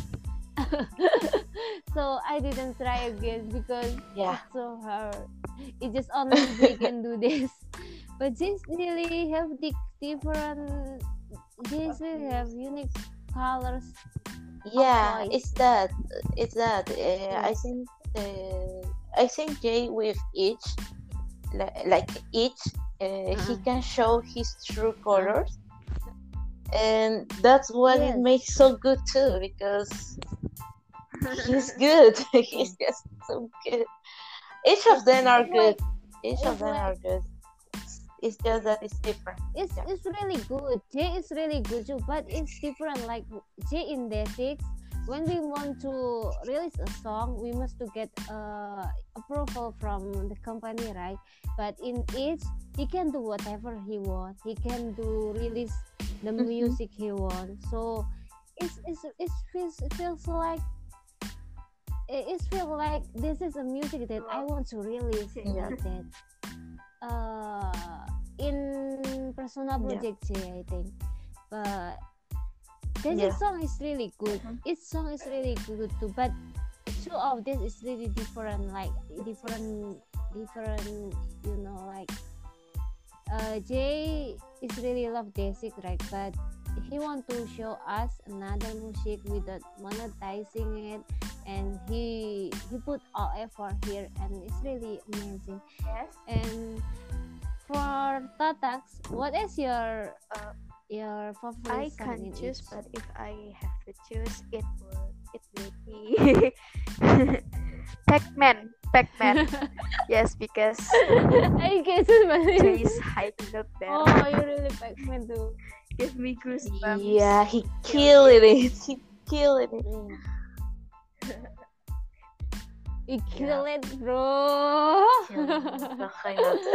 So I didn't try again because Yeah. it's so hard. It just only they can do this. But this really have different. This really have unique colors. Yeah, voice. it's that. I think Jay with each, like each, he can show his true colors, and that's what it Yes. makes so good too. Because he's good. He's just so good. Each of them are It's good. like Each it's of them like- are good. It's just that it's different. it's Yeah. it's really good. J is really good too, but it's different. Like J in Day6, when we want to release a song, we must to get approval from the company, right? But in each, he can do whatever he wants. He can do release the music he wants. So it feels like it feels like this is a music that I want to release Yeah. like that. In Persona Project J, I think. But this Yeah. song is really good. Each song is really good too. But two of this is really different. Like different. You know, like Jay is really love Day6, right? But he want to show us another music without monetizing it, and he put all effort here, and it's really amazing. Yes. And for Tatax, what is your I favorite song can't in choose, each? but if I have to choose, it will be Pac-Man. Yes, because I guess it's Jay's high note there Oh, you really Pac-Man too. give me goosebumps. Yeah, he killed it. He killed it. You kill it, bro. The high note.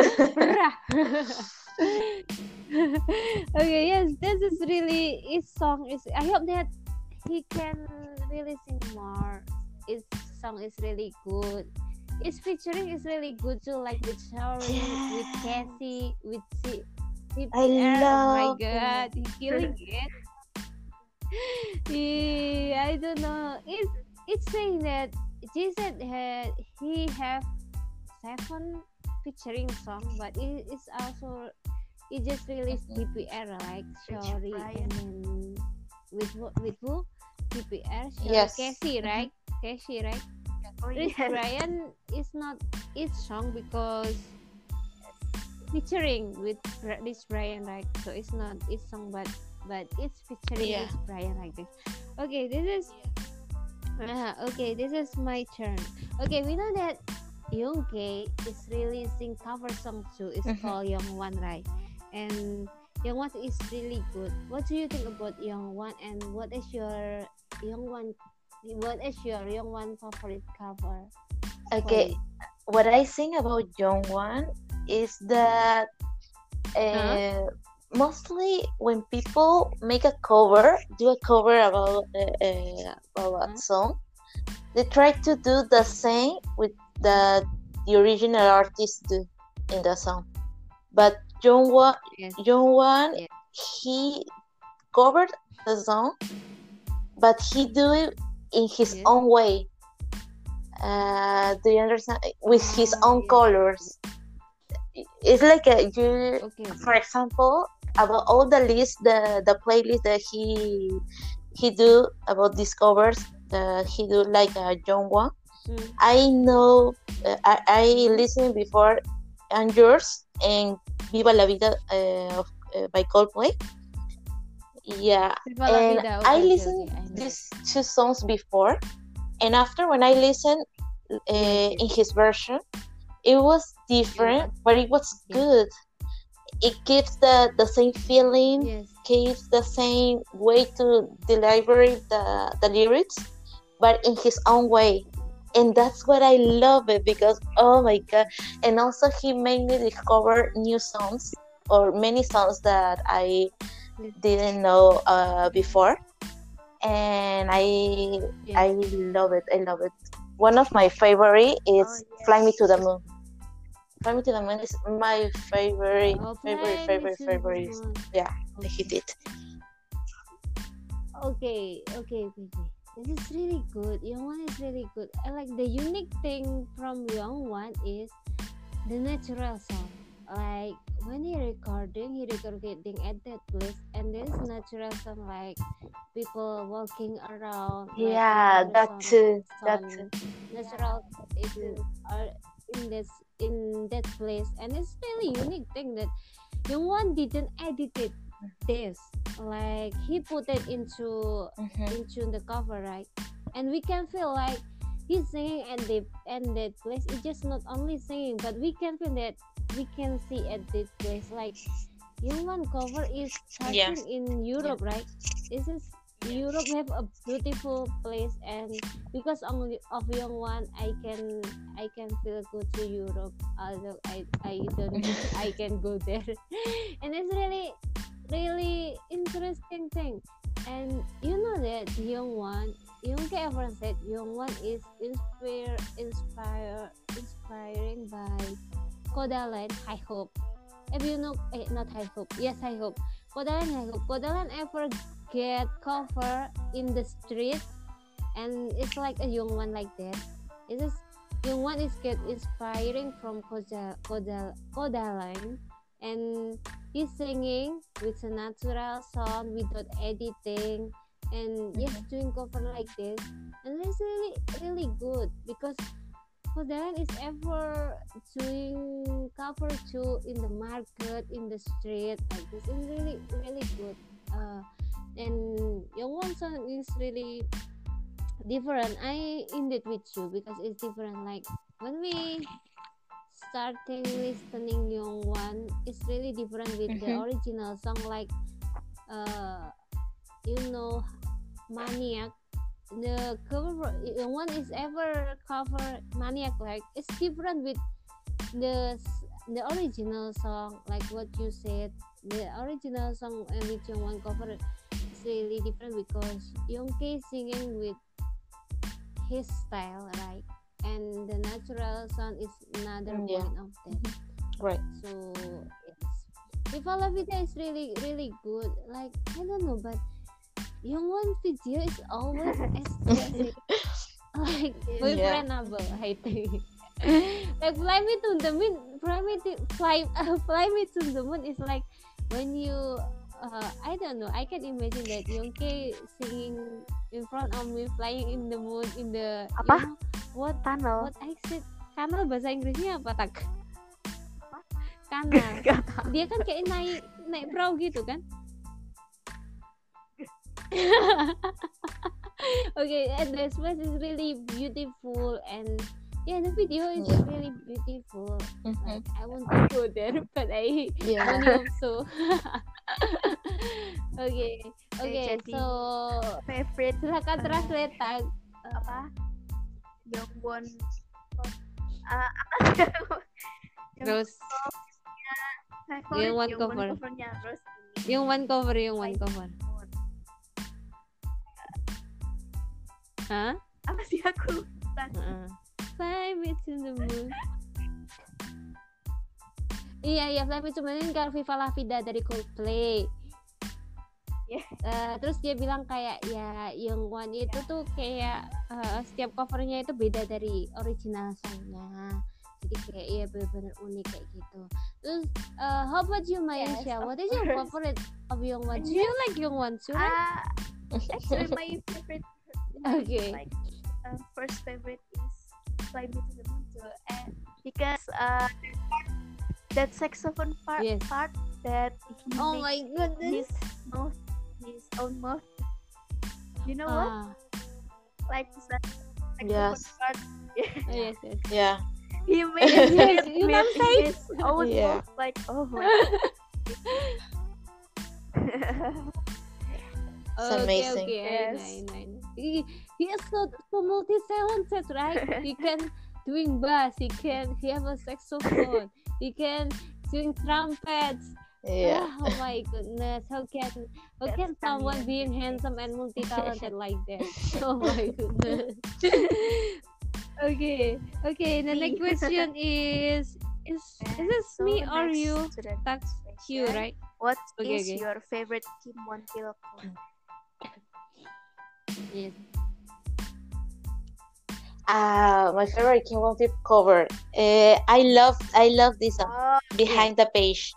Okay, yes, this is really his song is. I hope that he can really sing more. His song is really good. His featuring is really good too, like with Shaori, with Cassie, with CPR. I Oh my love god, he's killing it. I don't know. It's saying that Jason he have 7 featuring song, but it's also it just released DPR like Shaori and then with who DPR Shaori Yes. Casey, right? Casey, right? Oh, Rich yes. Brian is not his song because featuring with Rich Brian, right? So it's not his song, but it's featuring Yeah. Rich Brian like this. Okay, this is okay. This is my turn. Okay, we know that Youngke is releasing cover song too. It's called Young One, right? And Young One is really good. What do you think about Young One? And what is your Young One? What is your Young One favorite cover? Okay, what I think about Jongwon is that mostly when people make a cover, do a cover about a song, they try to do the same with the original artist do in the song. But Jongwon, Yes. Yeah. he covered the song, but he do it in his Yes. own way. Do you understand? With his own yes. colors. It's like you, Okay. for example, about all the list, the playlist that he do about these covers. He do like Jongwon. I know. I listened before and yours and Viva la Vida by Coldplay. Yeah, Viva la and Vida. I Okay, listened I know. these 2 songs before, And after when I listened in his version, it was different, but it was good. It gives the same feeling, gives the same way to deliver the lyrics, but in his own way. And that's what I love it, because oh my god. And also he made me discover new songs, or many songs that I didn't know before. And I love it. I love it. One of my favorite is Fly Me to the Moon. Fly Me to the Moon is my favorite. Yeah, he did. Okay. This is really good. Young One is really good. I like the unique thing from Young One is the natural sound. Like when he recording at that place, and there's natural sound like people walking around. Yeah, like that too. Natural is in that place, and it's really unique thing that Young One didn't edit it. This like he put it into the cover, right? And we can feel like he's singing at that place. It's just not only singing, but we can feel that we can see at this place like Young One cover is starting in Europe, right? This is Europe have a beautiful place, and because only of Young One, I can feel go to Europe. Although I don't I can go there, and it's really interesting thing. And you know that Young One, Young ever said Young One is inspiring by Kodaline High Hope. If you know, not High Hope. Yes, High Hope. Kodaline High Hope. Kodaline ever get cover in the street, and it's like a Young One like that. It is Young One is get inspiring from Kodaline, and he's singing with a natural sound without editing, and doing cover like this, and it's really good because Kodaline is ever doing cover too in the market, in the street like this, and really good. And Young One song is really different. I indeed with you because it's different. Like when we starting listening Young One, it's really different with the original song. Like Maniac. The cover Young One is ever cover Maniac. Like it's different with the original song. Like what you said, the original song with Young One cover is really different because Youngke singing with his style, right? And the natural sound is another point of that. Right. So Viva La Vida is really good. Like I don't know, but Young One video is always aesthetic. Like boyfriendable, I think. Like Fly Me to the Moon, Fly Me to the Moon is like when you I don't know, I can imagine that Youngke singing in front of me, flying in the moon, in the apa? What tunnel? What I said, kanal bahasa Inggrisnya apa tak? Kanal. Dia kan kayak naik perahu gitu kan? Okay, and the space is really beautiful, and the video is really beautiful. Like, I want to go there, but I don't hope so. Okay, so favorite silakan translate tag apa? Young One terus Young One cover. Terus Young One cover. Hah? Apa sih aku? Fly Me to the Moon. Iya, Fly Me to the Moon kan Viva La Vida dari Coldplay. Terus dia bilang kayak ya Young One itu tuh kayak setiap covernya itu beda dari original songnya. Jadi kayak benar-benar unik kayak gitu. Terus how about you, Maisha? What is your favorite of Young One? Do you like Young One too? Actually, my favorite. Okay. Like first favorite is Fly Me to the Moon too, and because that saxophone part that he oh my goodness, his own mouth. You know what? Like like Yes. open part. Yes, yes. Yeah. He made Yes, it you with can say. his own Yeah. voice, like, oh my It's Okay, amazing. okay, Yes. I know. He is so multi-talented, right? He can doing bass. He have a saxophone. He can sing trumpets. Yeah. Oh my goodness! How That's can someone Kamian. being handsome and multi-talented like that? Oh my goodness. Okay, okay. The next question is this So me or next you? to the That's next you, question. right? What Okay, is okay. your favorite Kim Won Pil cover? Yes. My favorite King Von Flip cover. I love this song, Oh, Behind the Page.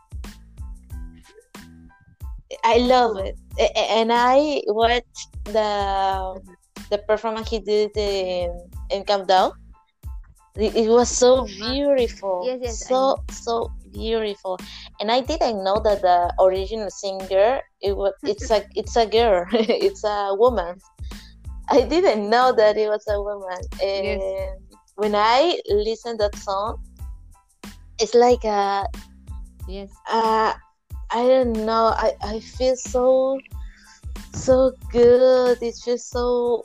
I love it, and I watched the performance he did in Countdown. It was so beautiful, Yes, yes, I know. so beautiful, and I didn't know that the original singer it's a girl, it's a woman. I didn't know that it was a woman, Yes. and when I listened that song, it's like Yes. I don't know. I feel so good. It's just so.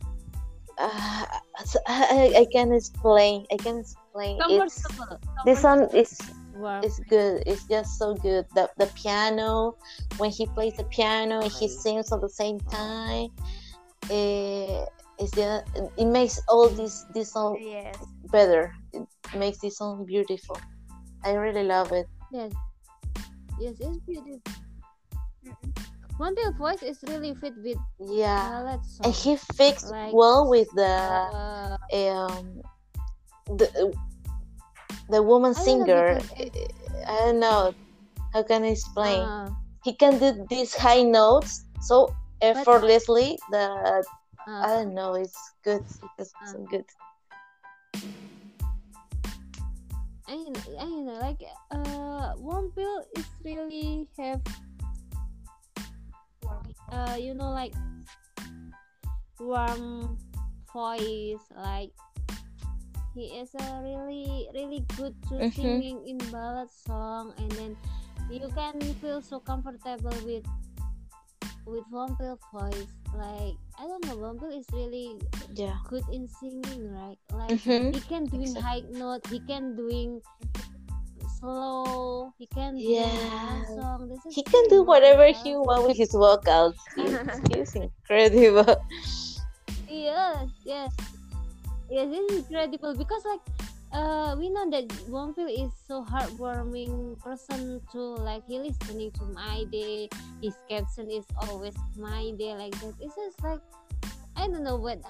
I can explain. I can explain. It's Comfortable. this song Wow. is good. It's just so good. The piano, when he plays the piano and he sings at the same time, it's just, it makes all this song yes. better. It makes this song beautiful. I really love it. Yes. Yes, it's beautiful. One Bill voice is really fit with Yeah. ballad And song. he fixed Like, well with Uh, the woman I don't know, singer. because I don't know how can I explain. He can do these high notes so effortlessly that I don't know. It's good. It's so good. I know, like One Bill is really have like warm voice, like he is a really good to singing in ballad song, and then you can feel so comfortable with One Bill voice. Like I don't know, One Bill is really good in singing, right? Like he can doing high note, he can doing slow, he can do song. He can do whatever he wants with his vocals. He's incredible. Yes, this is incredible because like we know that One Bill is so heartwarming person too. Like he listening to My Day, his caption is always My Day, like that. It's just like I don't know when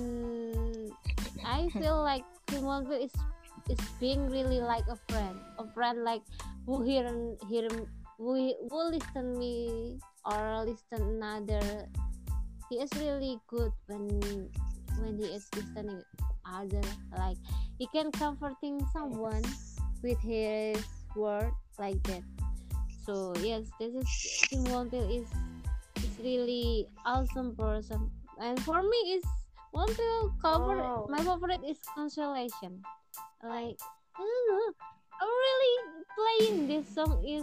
I feel like One Bill is being really like a friend like who hear who listen me or listen another. He is really good when he is listening other, like he can comforting someone with his word like that. So yes, this is Kim Won Pil is really awesome person, and for me is One Pil cover. My favorite is Consolation. Like I don't know, I'm really playing this song is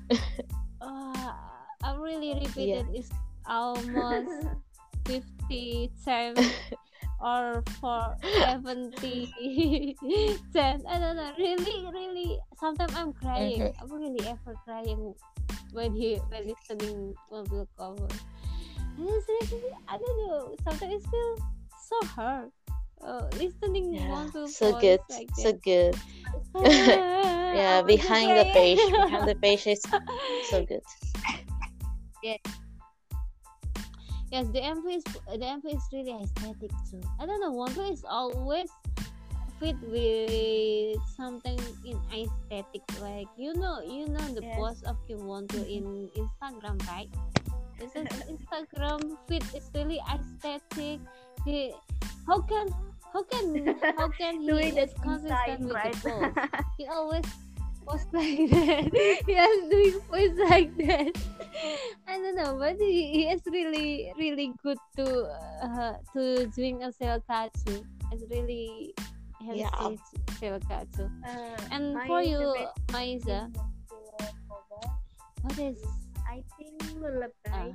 I really repeated it's almost 50 times or for 70 times. I don't know, really sometimes I'm crying. I'm really ever crying when listening One Bill cover, and it's really, I don't know, sometimes it feels so hard listening One Bill so voice good, like so that. good. I'm behind the page is so good. Yes, the MV is really aesthetic too. I don't know, One Bill is always fit with something in aesthetic. Like you know the post of Kim Won Pil in Instagram, right? This is Instagram fit is really aesthetic. How can he Doing is that consistent design, with right? the post? He always pose like that. He has doing pose like that. I don't know, but he is really really good to doing a selkatsu. It's really Yeah. healthy selkatsu. And My for you, favorite Maiza, cover, what is I think Lullaby.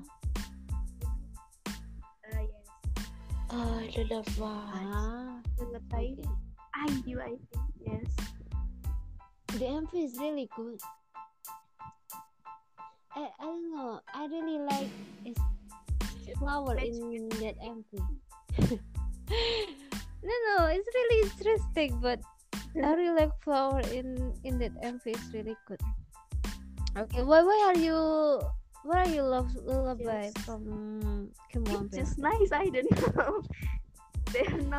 Yes, Oh, lullaby. Lullaby. okay. I think yes. The MV is really good. I don't know. I really like his flower in that MV. No, it's really interesting, but I really like flower in that MV. It's really good. Okay, why are you love Lullaby Yes. from Kim Won It's just nice. I don't know. They're not.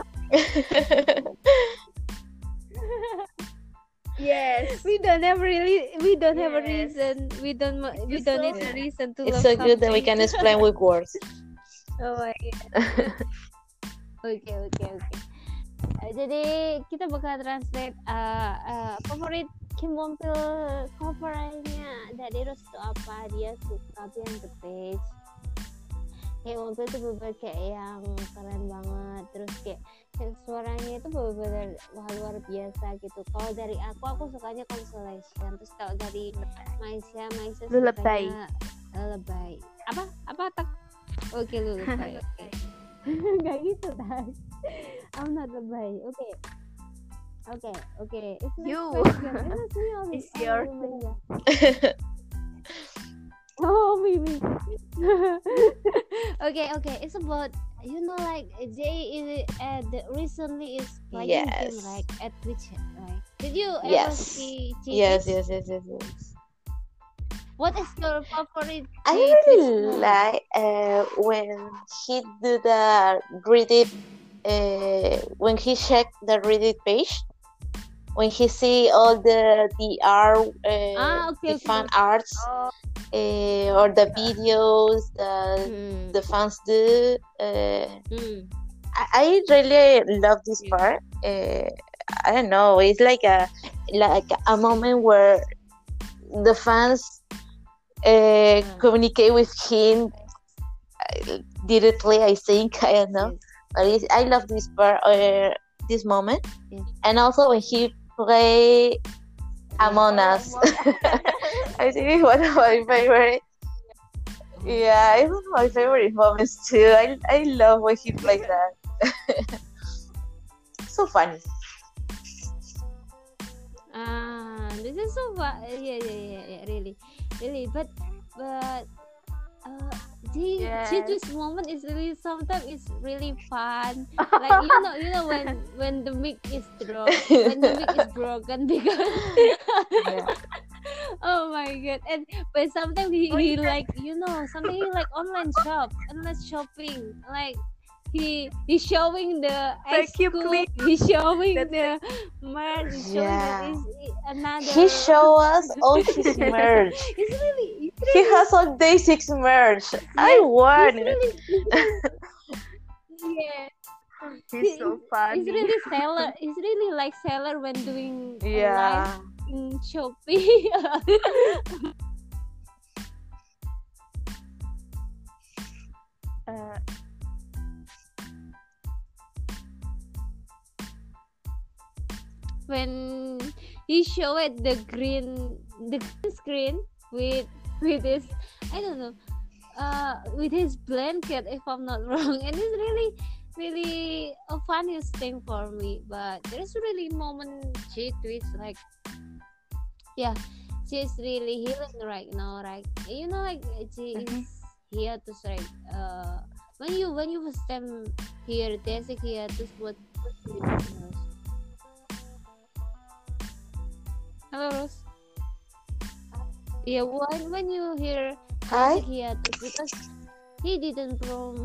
Yes. We don't have a Yes. reason. We don't It's need so- a reason to It's love so good that we something. can explain with words. Oh my god. Oke. Jadi kita bakal translate favorit Kim Won Pil covernya Daderos itu apa? Dia suka Behind the Page. Kim Won Pil itu bener kayak yang keren banget. Terus kayak suaranya itu bener-bener wah luar biasa gitu. Kalau dari aku sukanya Consolation. Terus kalau dari Maisha Lullaby. sukanya Lullaby. Apa tak? Oke, Lullaby. Oke. Gak gitu, Tas. I'm not Lullaby. Oke. It's next You. question. It's me all It's your Maisha. Oh, me. Okay. It's about like Jay is recently is playing Yes. game like at Twitch, right? Did you ever Yes. see Yes. Twitch? What is your favorite? I Twitch really moment? like when he do the Reddit, when he check the Reddit page, when he see all the art, Okay. the fan arts, Oh, or the videos Hmm. the fans do. Hmm. I really love this Yeah. part. I don't know. It's like a moment where the fans communicate with him directly. I think I don't know, Yes. but I love this part, this moment, Yes. and also when he play Among Us. I think it's one of my favorite. Yeah, it's one of my favorite moments too. I love when he plays that. So funny. This is so fun. Yeah, really. But Yes. this moment is really sometimes it's really fun. Like you know when the mic is broken because Yeah. oh my god. And but sometimes he yeah. like something like online shopping, like he's showing the Vacuum scoop, cleaner. he's showing That's the merch, he's showing Yeah. that is another. He show us all his merch. It's really He has all Day6 merch. I want it. yeah. He's so funny. He's really seller. He's really like seller when doing Yeah. live in Shopee. Uh, When he showed the green screen with his I don't know with his blanket, if I'm not wrong, and it's really a funniest thing for me. But there's really moment she tweets like, yeah, she's really healing right now, right? Like she is here to like when you first time hear Desik here to what do you think? Hello, Rose. Yeah, when you hear Hi. hiatus, because he didn't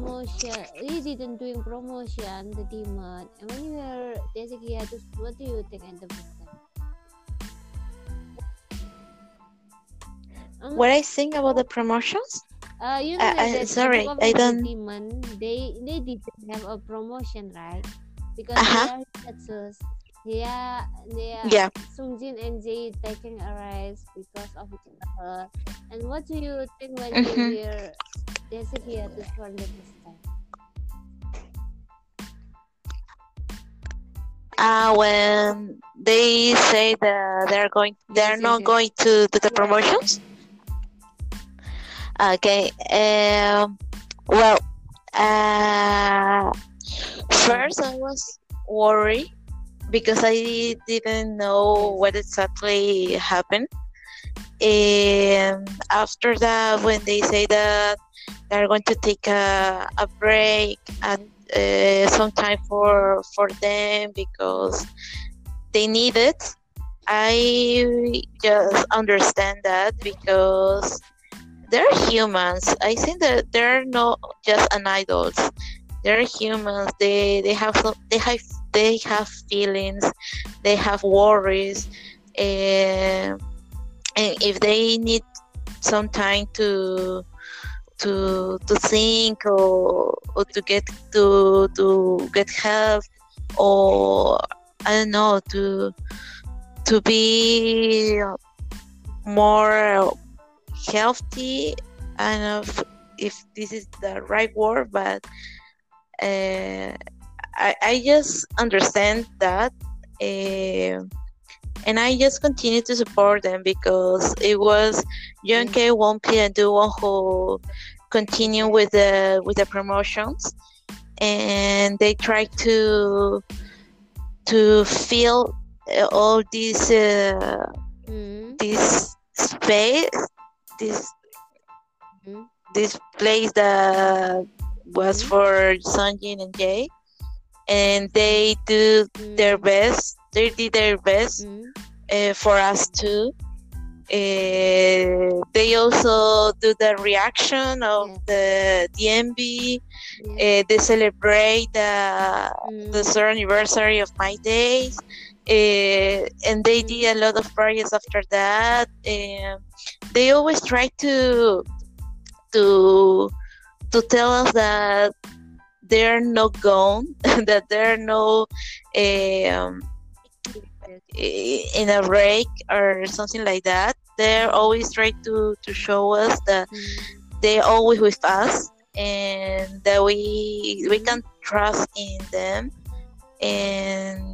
doing promotion the demand. And when you hear Desik hiatus, what do you think at the first time? What I think about the promotions? That sorry, the I don't. Demon, they didn't have a promotion, right? Because Uh-huh. they are hiatus. Yeah. Sungjin and Jae taking a rest because of each other. And what do you think when you Mm-hmm. hear Desik hiatus for the first time? When they say that they're not going to do the promotions. Okay. Well, first I was worried because I didn't know what exactly happened. And after that, when they say that they're going to take a break and some time for them because they need it, I just understand that because they're humans. I think that they're not just an idols. They're humans. They have feelings. They have worries. And if they need some time to think or to get help, or I don't know, to be more healthy. I don't know if this is the right word, but I just understand that, and I just continue to support them because it was Yonkei, Wonpi, and Duwon who continue with the promotions, and they try to fill all this this space, this place that was for Sunjin and Jae, and they do their best. They did their best for us too. They also do the reaction of the DMB. They celebrate the third anniversary of My Days, and they did a lot of projects after that. They always try to tell us that they're not gone, that they're no in a break or something like that. They're always trying to show us that they're always with us and that we can trust in them. And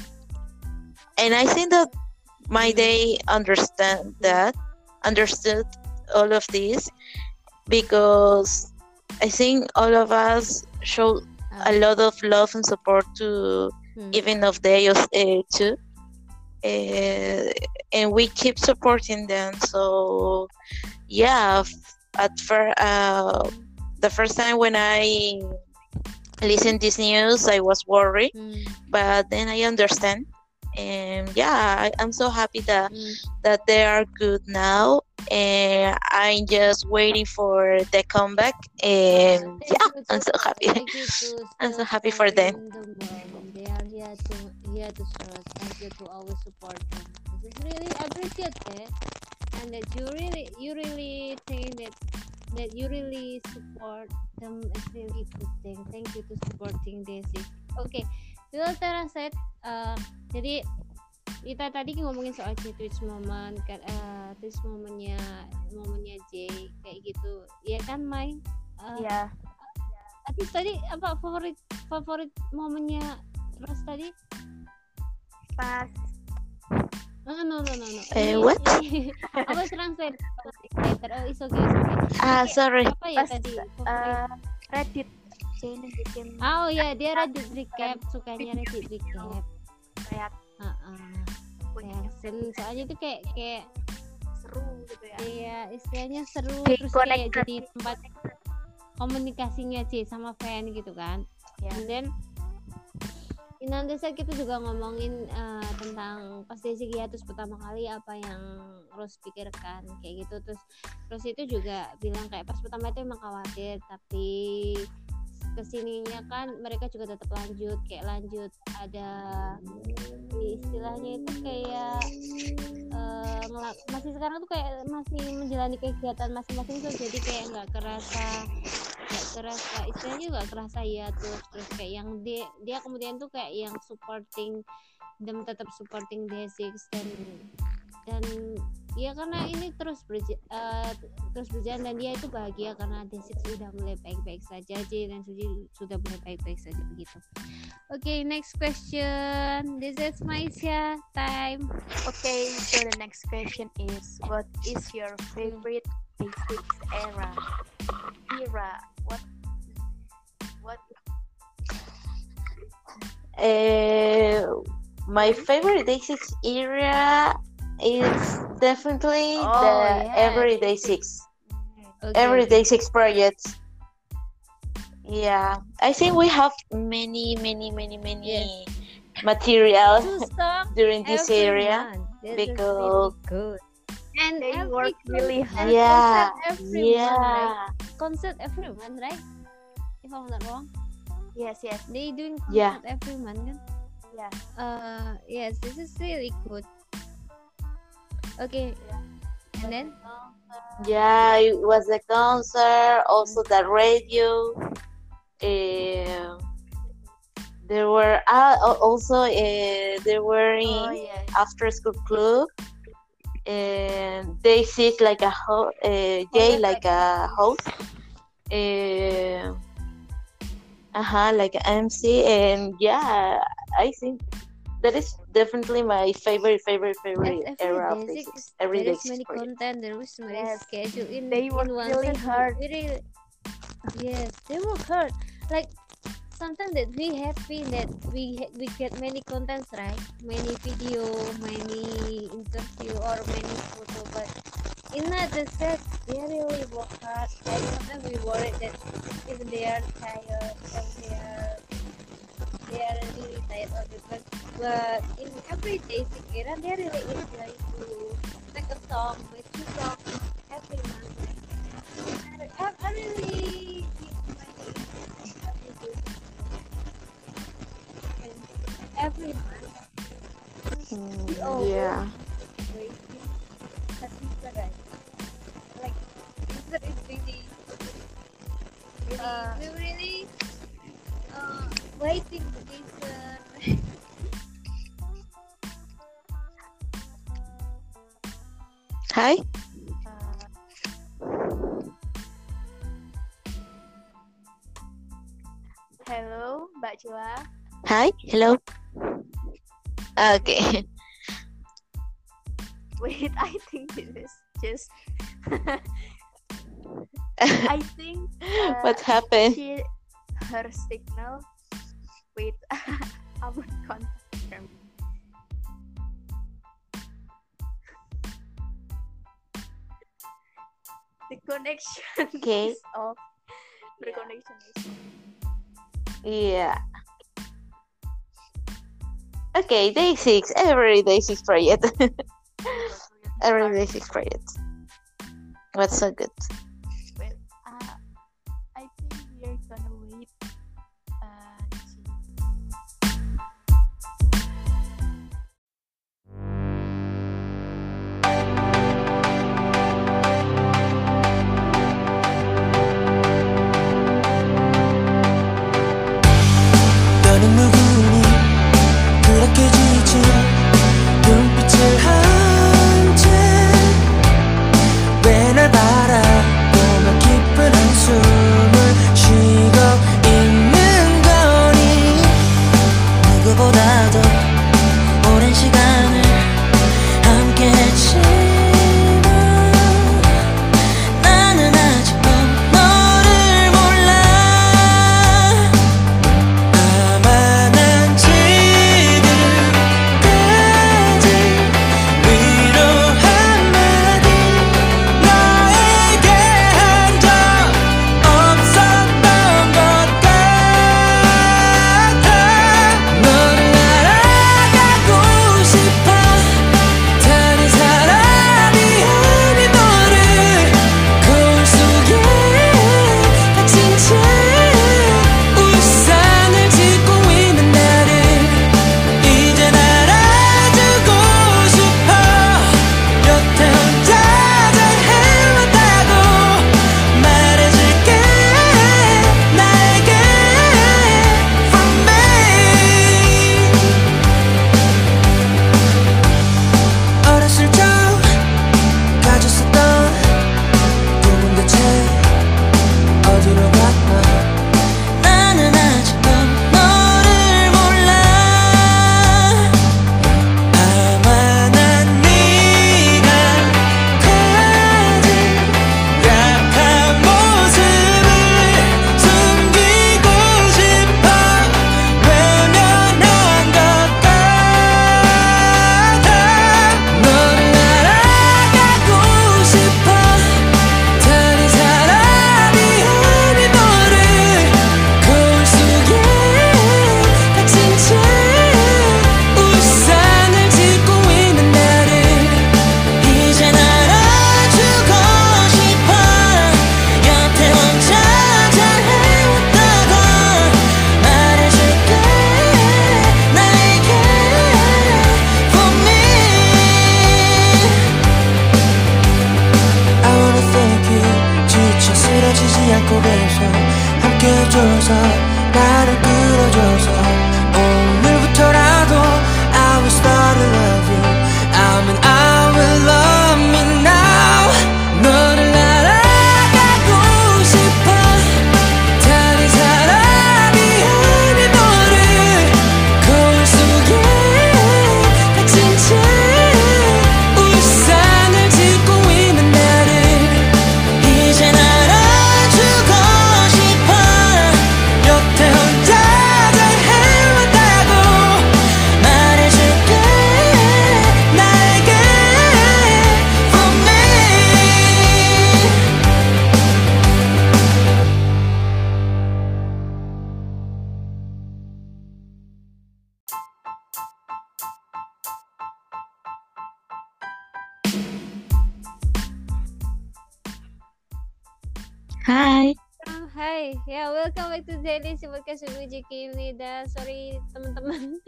I think that My Day understood all of this, because I think all of us show a lot of love and support to even of they too, and we keep supporting them. So yeah, at first, the first time when I listened this news, I was worried, but then I understand. And yeah, I'm so happy that they are good now, and I'm just waiting for the comeback. And yeah, I'm so happy. I'm so happy for them. They are here to serve. Thank you to always support them. This is really appreciated, and that you really think that you really support them is really good thing. Thank you to supporting this. Okay, Will Tara said, jadi kita tadi ngomongin soal Twitch moment kan, Twitch momennya J kayak gitu, ya kan Mai? Iya. Tadi apa favorit momennya Ros tadi? Pas. No. What? I was translate later. Oh, it's okay. Sorry. Apa ya tadi? Reddit. Jane bikin. Oh ya, dia Reddit recap, sukanya Reddit recap. Kayak soalnya itu kayak seru gitu ya. Iya, istilahnya seru, terus Connect kayak jadi tempat komunikasinya sama fan gitu kan. And then nanti kita juga ngomongin tentang pas Desik hiatus pertama kali apa yang Rose pikirkan kayak gitu. Terus Rose itu juga bilang kayak pas pertama itu emang khawatir, tapi kesininya kan mereka juga tetap lanjut ada istilahnya itu kayak masih sekarang tuh kayak masih menjalani kegiatan masing-masing tuh, jadi kayak nggak kerasa istilahnya nggak kerasa ya terus kayak yang dia kemudian tuh kayak yang supporting them tetap supporting Day6 dan ya karena ini terus berjalan dan dia itu bahagia karena Day6 sudah mulai baik-baik saja, J dan Suji sudah mulai baik-baik saja begitu. Okay, next question. This is Maisha time. Okay, so the next question is, what is your favorite Day6 era? What? My favorite Day6 era is definitely the Every Day6. Okay. Every Day6 project. Yeah, I think we have many material during this area because really good. And they work really hard. Yeah, Concert every month, right? If I'm not wrong. Yes. They doing concert every month, kan? Yeah. Yes, this is really good. Okay. And then? Yeah, it was the concert, also the radio. There were also there were in after school club, and they sit like a Jay like a host, like an MC, and yeah, I think that is definitely my favorite era of Day6. Every there Day6 is many content, there was many schedule in they work really hard. Yes, they work hard. Like sometimes that we happy that we get many contents, right? Many video, many interview, or many photo, but in the set they really work hard. And sometimes we worry that if they are tired, they are really tired of it, but in every Day6 era they really enjoy to make a song, with 2 songs every month. I really every month. Yeah. Like that is really we really waiting for this. Hi. Hello, Mbak Cila. Hi. Hello. Okay. Wait, I think this is just. I think. What happened? Her signal. Wait, I will contact them. The connection is off. The connection is off. Yeah. Okay, Day6. Every Day6 project. Every Day6 project. What's so good? Well, I think we're gonna wait. 너는 누구니 그렇게 지친 눈빛을 한 채 왜 날 바라보며 깊은 한숨을 쉬고 있는 거니 누구보다도 오랜 시간을 함께 했지만 나는 아직도 너를 몰라 아마 Okay, yeah, welcome back to Daily Podcast with Wiji Kimnida. Sorry teman-teman,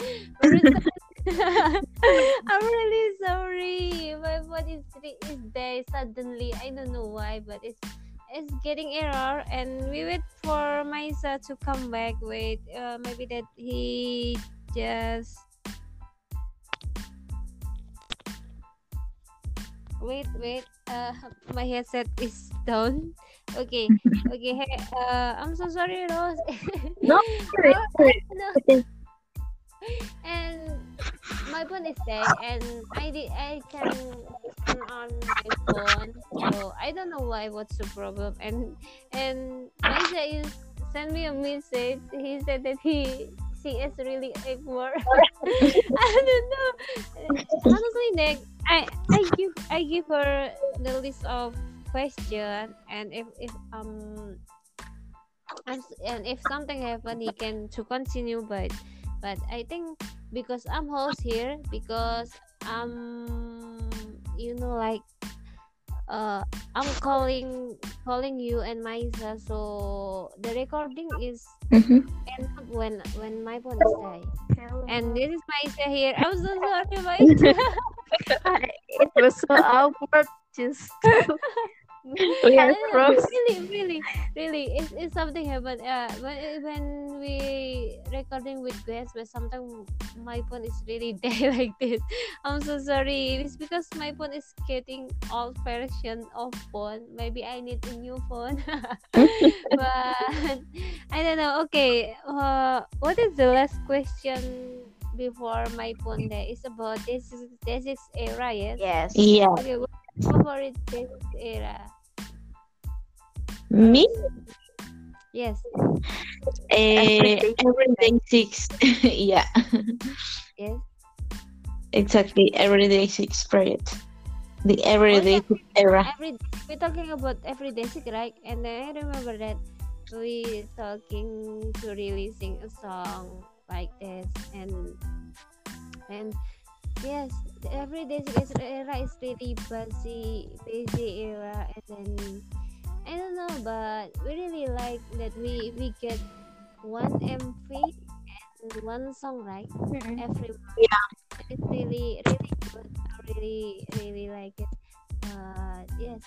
I'm really sorry. My phone is dead suddenly. I don't know why, but it's getting error, and we wait for Maisa to come back. Wait, maybe that he just wait. My headset is down. Okay. Hey, I'm so sorry, Rose. No, No. And my phone is dead, and I can turn on my phone, so I don't know what's the problem. And Maisa is send me a message. He said that she is really ignore. I don't know. Honestly, Nick, I give her the list of question, and if something happen, he can to continue, but I think because I'm host here, because like I'm calling you and Maisa, so the recording is end up when my phone is dead. And this is Maisa here. I'm so sorry, Maisa. It was so awkward just really it's something happened when we recording with guests, but sometimes my phone is really dead like this. I'm so sorry. It's because my phone is getting old version of phone. Maybe I need a new phone. But I don't know. Okay, what is the last question before my phone there? It's about this era, yes? Yes. Yeah. Okay, what's your favorite this era? Me? Yes. Everyday 6. Yeah. Yes. Exactly. Everyday 6 period. The everyday 6 era. We're talking about everyday 6, right? And then I remember that we talking to releasing a song like this, and yes, the everyday 6 era is really busy era, and then I don't know, but we really like that we get one MP and one song, right? Every month. Yeah. It's really good. I really like it. Yes.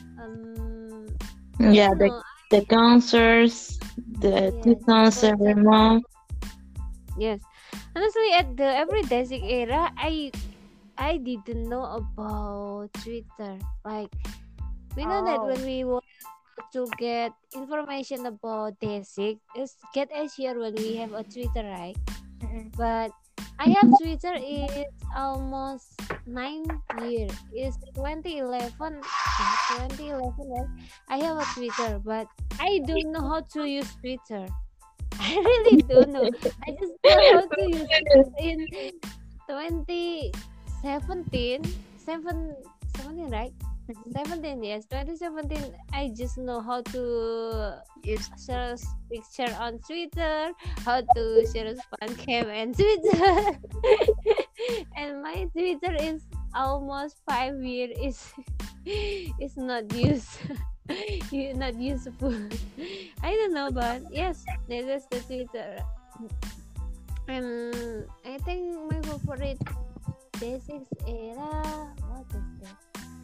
Yeah, I don't know. the concerts, the Yes, 2000 every concert. month. Yes. Honestly, at the everyday 6 era, I didn't know about Twitter. Like, we know that when we want to get information about Desik, it's get easier when we have a Twitter, right? But I have Twitter is almost 9 years. It's 2011. 2011, right? I have a Twitter, but I don't know how to use Twitter. I really don't know. I just know how to use it in 2017, 17, right? 17, yes, 2017. I just know how to share picture on Twitter, how to share fan cam and Twitter. And my Twitter is almost 5 years. It's not used. Not useful. I don't know, but yes, that is the Twitter. I think my favorite basics era, what is that?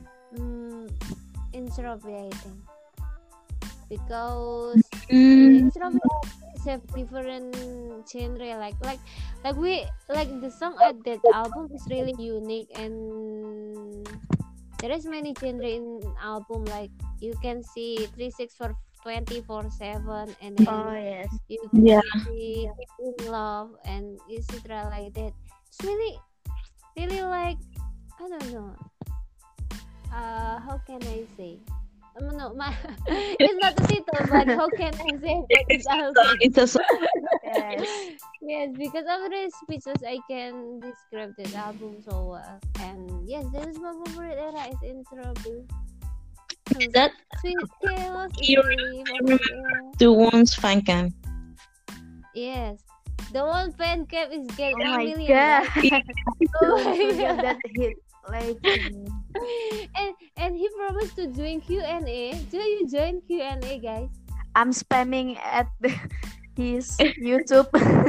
Introvert, I think, because introvert have different genre, like the song at that album is really unique, and there is many genre in album, like you can see 364 24/7, and then yes. you can Yeah. see Keep in Love and etc. like that. It's really like, I don't know. How can I say? No, it's not the title, but how can I say about this album? It's a song. Yes. Yes, because of the speeches, I can describe this album so well. And yes, that is my favorite era, is intro. That Sweet Chaos is You really my favorite era. the ones fan can. Yes, the one fan cap is get Oh 1 my million. god. Right? Oh my Forget god. that hit. Like, And he promised to join Q&A. Do you join Q&A, guys? I'm spamming at his YouTube.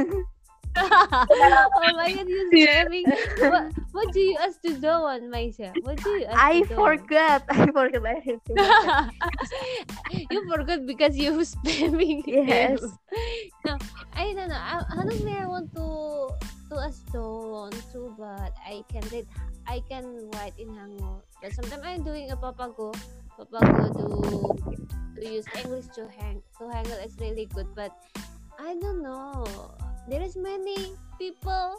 Oh my god, you're spamming. What do you ask to Doan, Maisha? What do you ask I to Doan? forgot. I didn't do that. You forgot because you spamming Yes. him. No, I don't know. Honestly, I want to ask Doan too, but I can write in Hangul. But sometimes I'm doing a Papago to use English to Hangul is really good, but I don't know. There is many people,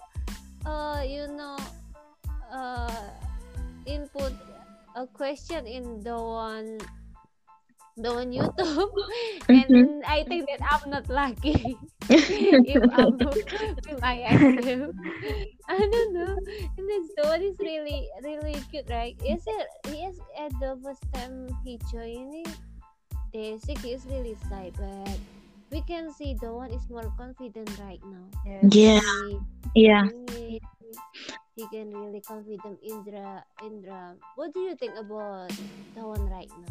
input a question in the one YouTube, and I think that I'm not lucky. If I ask him, I don't know. And this the one is really really cute, right? He is at the first time he joining Desik, he is really shy, but we can see the one is more confident right now. Yeah. Yeah. He can really confident Indra. What do you think about the one right now?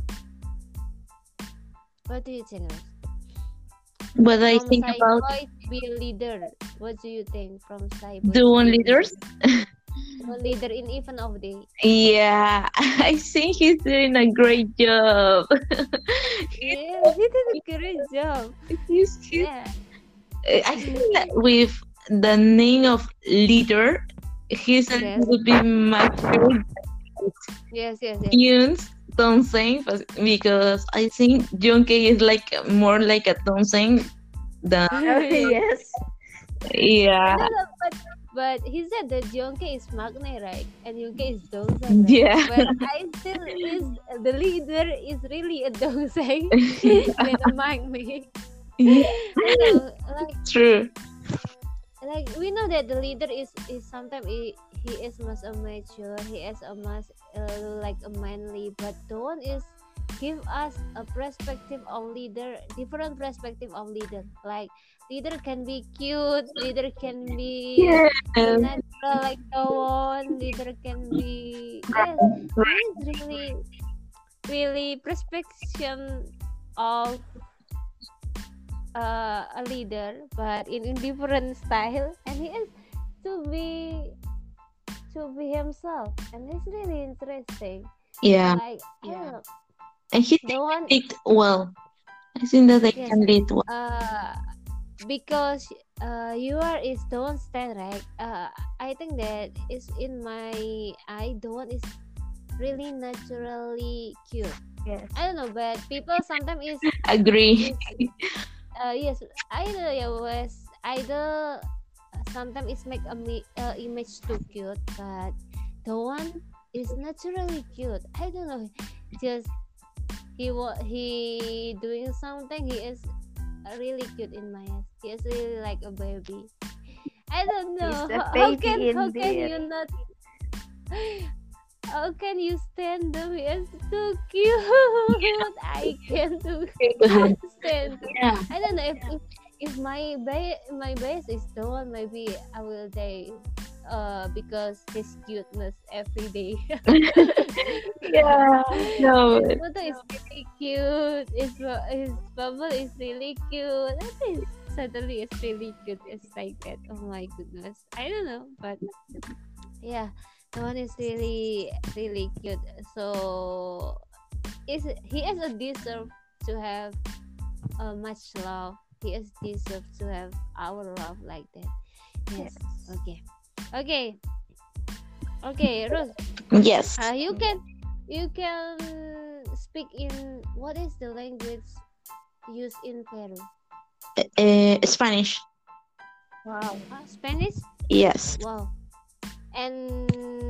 What do you think? What I From think about Cyboy to be a leader. What do you think from Cyboy? the one leaders? One leader in even of day. Yeah, I think he's doing a great job. Yeah, he did a great job. He's Yeah. I think that with the name of leader, he's a Yes. little bit mature. Yes. Yuns Donseng, because I think Junkei is like more like a Donseng than Yes. yeah. No, but he said that Yonke is Magne, right? And Yonke is Dongseng, right? Yeah. But I still is the leader is really a Dongseng than a Magne. Yeah, So, true. like we know that the leader is sometimes he is much a mature, he is a much like a manly, but the one is give us a perspective of leader, different perspective of leader. Like leader can be cute, leader can be Yeah. natural like the one, leader can be yes, it's really perception of a leader, but in different style, and he is to be himself, and it's really interesting. Yeah. Like I don't know, And he the one lead well. I think that they yes, can lead well. because you are is the one stand right. I think that is in my eye. The one is really naturally cute. Yes. I don't know, but people sometimes is Agree. yes, either yeah was either sometimes it's make a image too cute, but the one is naturally cute. I don't know, just he doing something. He is really cute in my eyes. He is really like a baby. I don't know. He's a How baby can indeed. you not? How can you stand them? He is too cute. I can't stand them. Yeah. I don't know if my base is the one, maybe I will die because his cuteness every day. Yeah. No. His photo is really cute. His bubble is really cute. I think suddenly it's really cute. It's like that. Oh my goodness. I don't know, but yeah, the one is really really cute. So he has a deserve to have much love. He is deserve to have our love like that. Yes. Okay, Rose. Yes. You can speak in what is the language used in Peru? Spanish. Wow. Spanish. Yes. Wow. And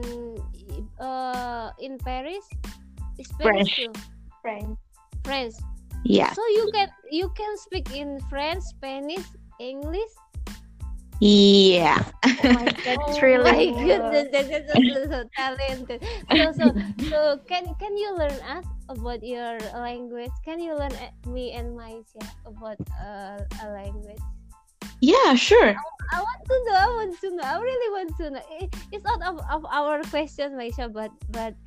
in Paris, Spanish French. too. French. French. Yeah. So you can speak in French, Spanish, English. Yeah. Oh my god, Oh really? my goodness, that's so talented. So can you learn us about your language? Can you learn me and Maisha about a language? Yeah, sure. I want to know. I really want to know. It's out of our questions, Maisha, but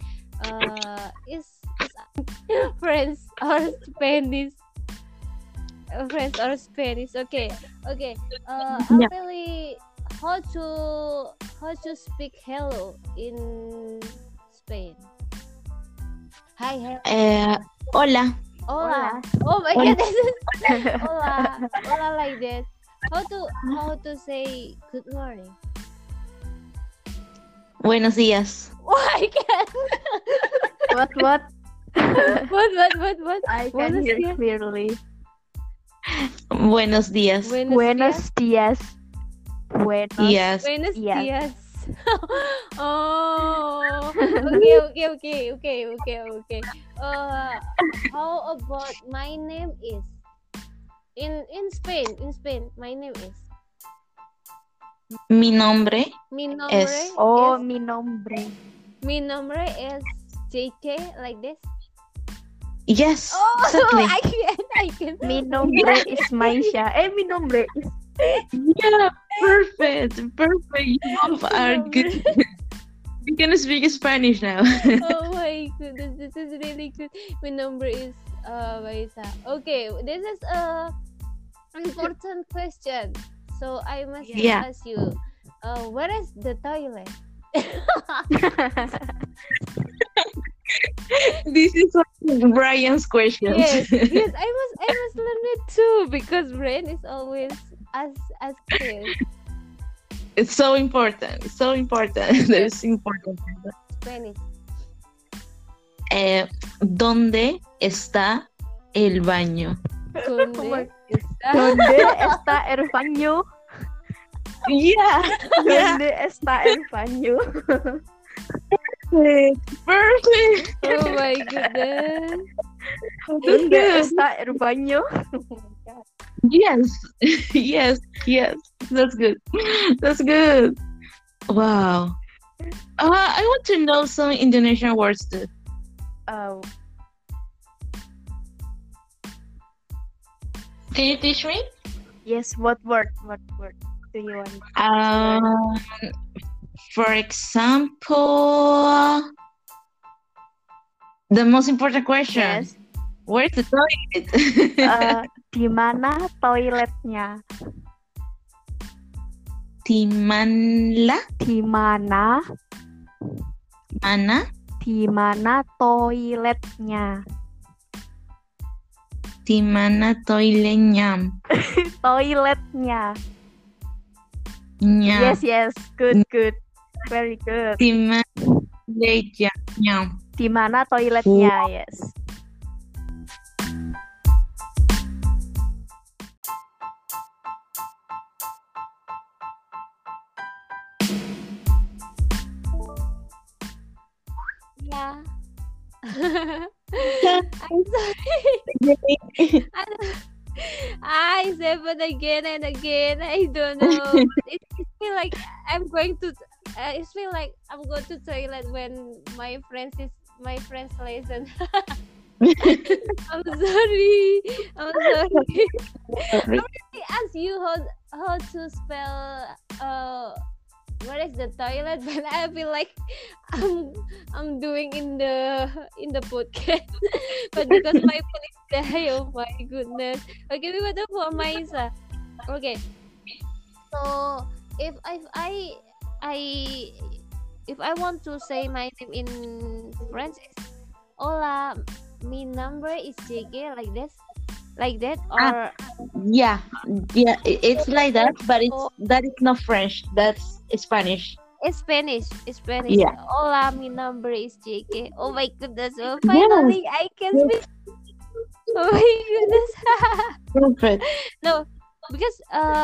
is French or Spanish? French or Spanish. Okay. Yeah. Actually, how to speak hello in Spain? Hi, hello. Hola. Hola. Oh my Hola. god, this is hola like that. How to say good morning? Buenos días. Oh my god. What? What? I can Buenos hear días. clearly. Buenos días. Buenos días. Buenos Yes. Buenos días. días. Oh, okay. How about my name is in Spain? In Spain, my name is Mi nombre mi nombre es. Oh, is mi nombre. mi nombre is JK like this. Yes. Oh, Exactly. I can. Mi nombre is Maisha. Mi nombre is. Yeah. Perfect. You both are Number. good. You can speak Spanish now. Oh my goodness, this is really good. My number is Maisa. Okay, this is a important question. So I must Yeah. ask you, where is the toilet? This is Brian's questions. Yes, I must learn it too because brain is always as kids. It's so important. That is important. Spanish. ¿Dónde está el baño? ¿Dónde está? ¿Dónde está el baño? Yeah. ¿Dónde está el baño? Perfect. Oh my goodness. ¿Dónde está el baño? Yes. That's good. Wow. I want to know some Indonesian words too. Oh, Can you teach me? yes. What word do you want? For example, the most important question. Yes. Where's the toilet? Di mana toiletnya? Di mana? Di mana? Mana? Di mana toiletnya? Di mana toiletnya? Toiletnya. Nya. Yes. Good. Very good. Di mana toiletnya? Di mana toiletnya? Yes. Yeah. Yeah. I'm sorry. I said it again and again. I don't know. It feel like I'm going to. It feel like I'm going to toilet when my friends listen. I'm sorry. I really ask you how to spell what is the toilet, but I feel like I'm doing in the podcast. But because my phone is die, oh my goodness. Okay, we went for Maisa. Okay. So if I want to say my name in French, it's hola, mi nombre is JG, like that, or Yeah, it's like that, but that is not French. That's Spanish. it's Spanish. Yeah. Hola, mi nombre is JK. Oh my goodness! Oh, finally, I can speak. Oh my goodness! Perfect. No, because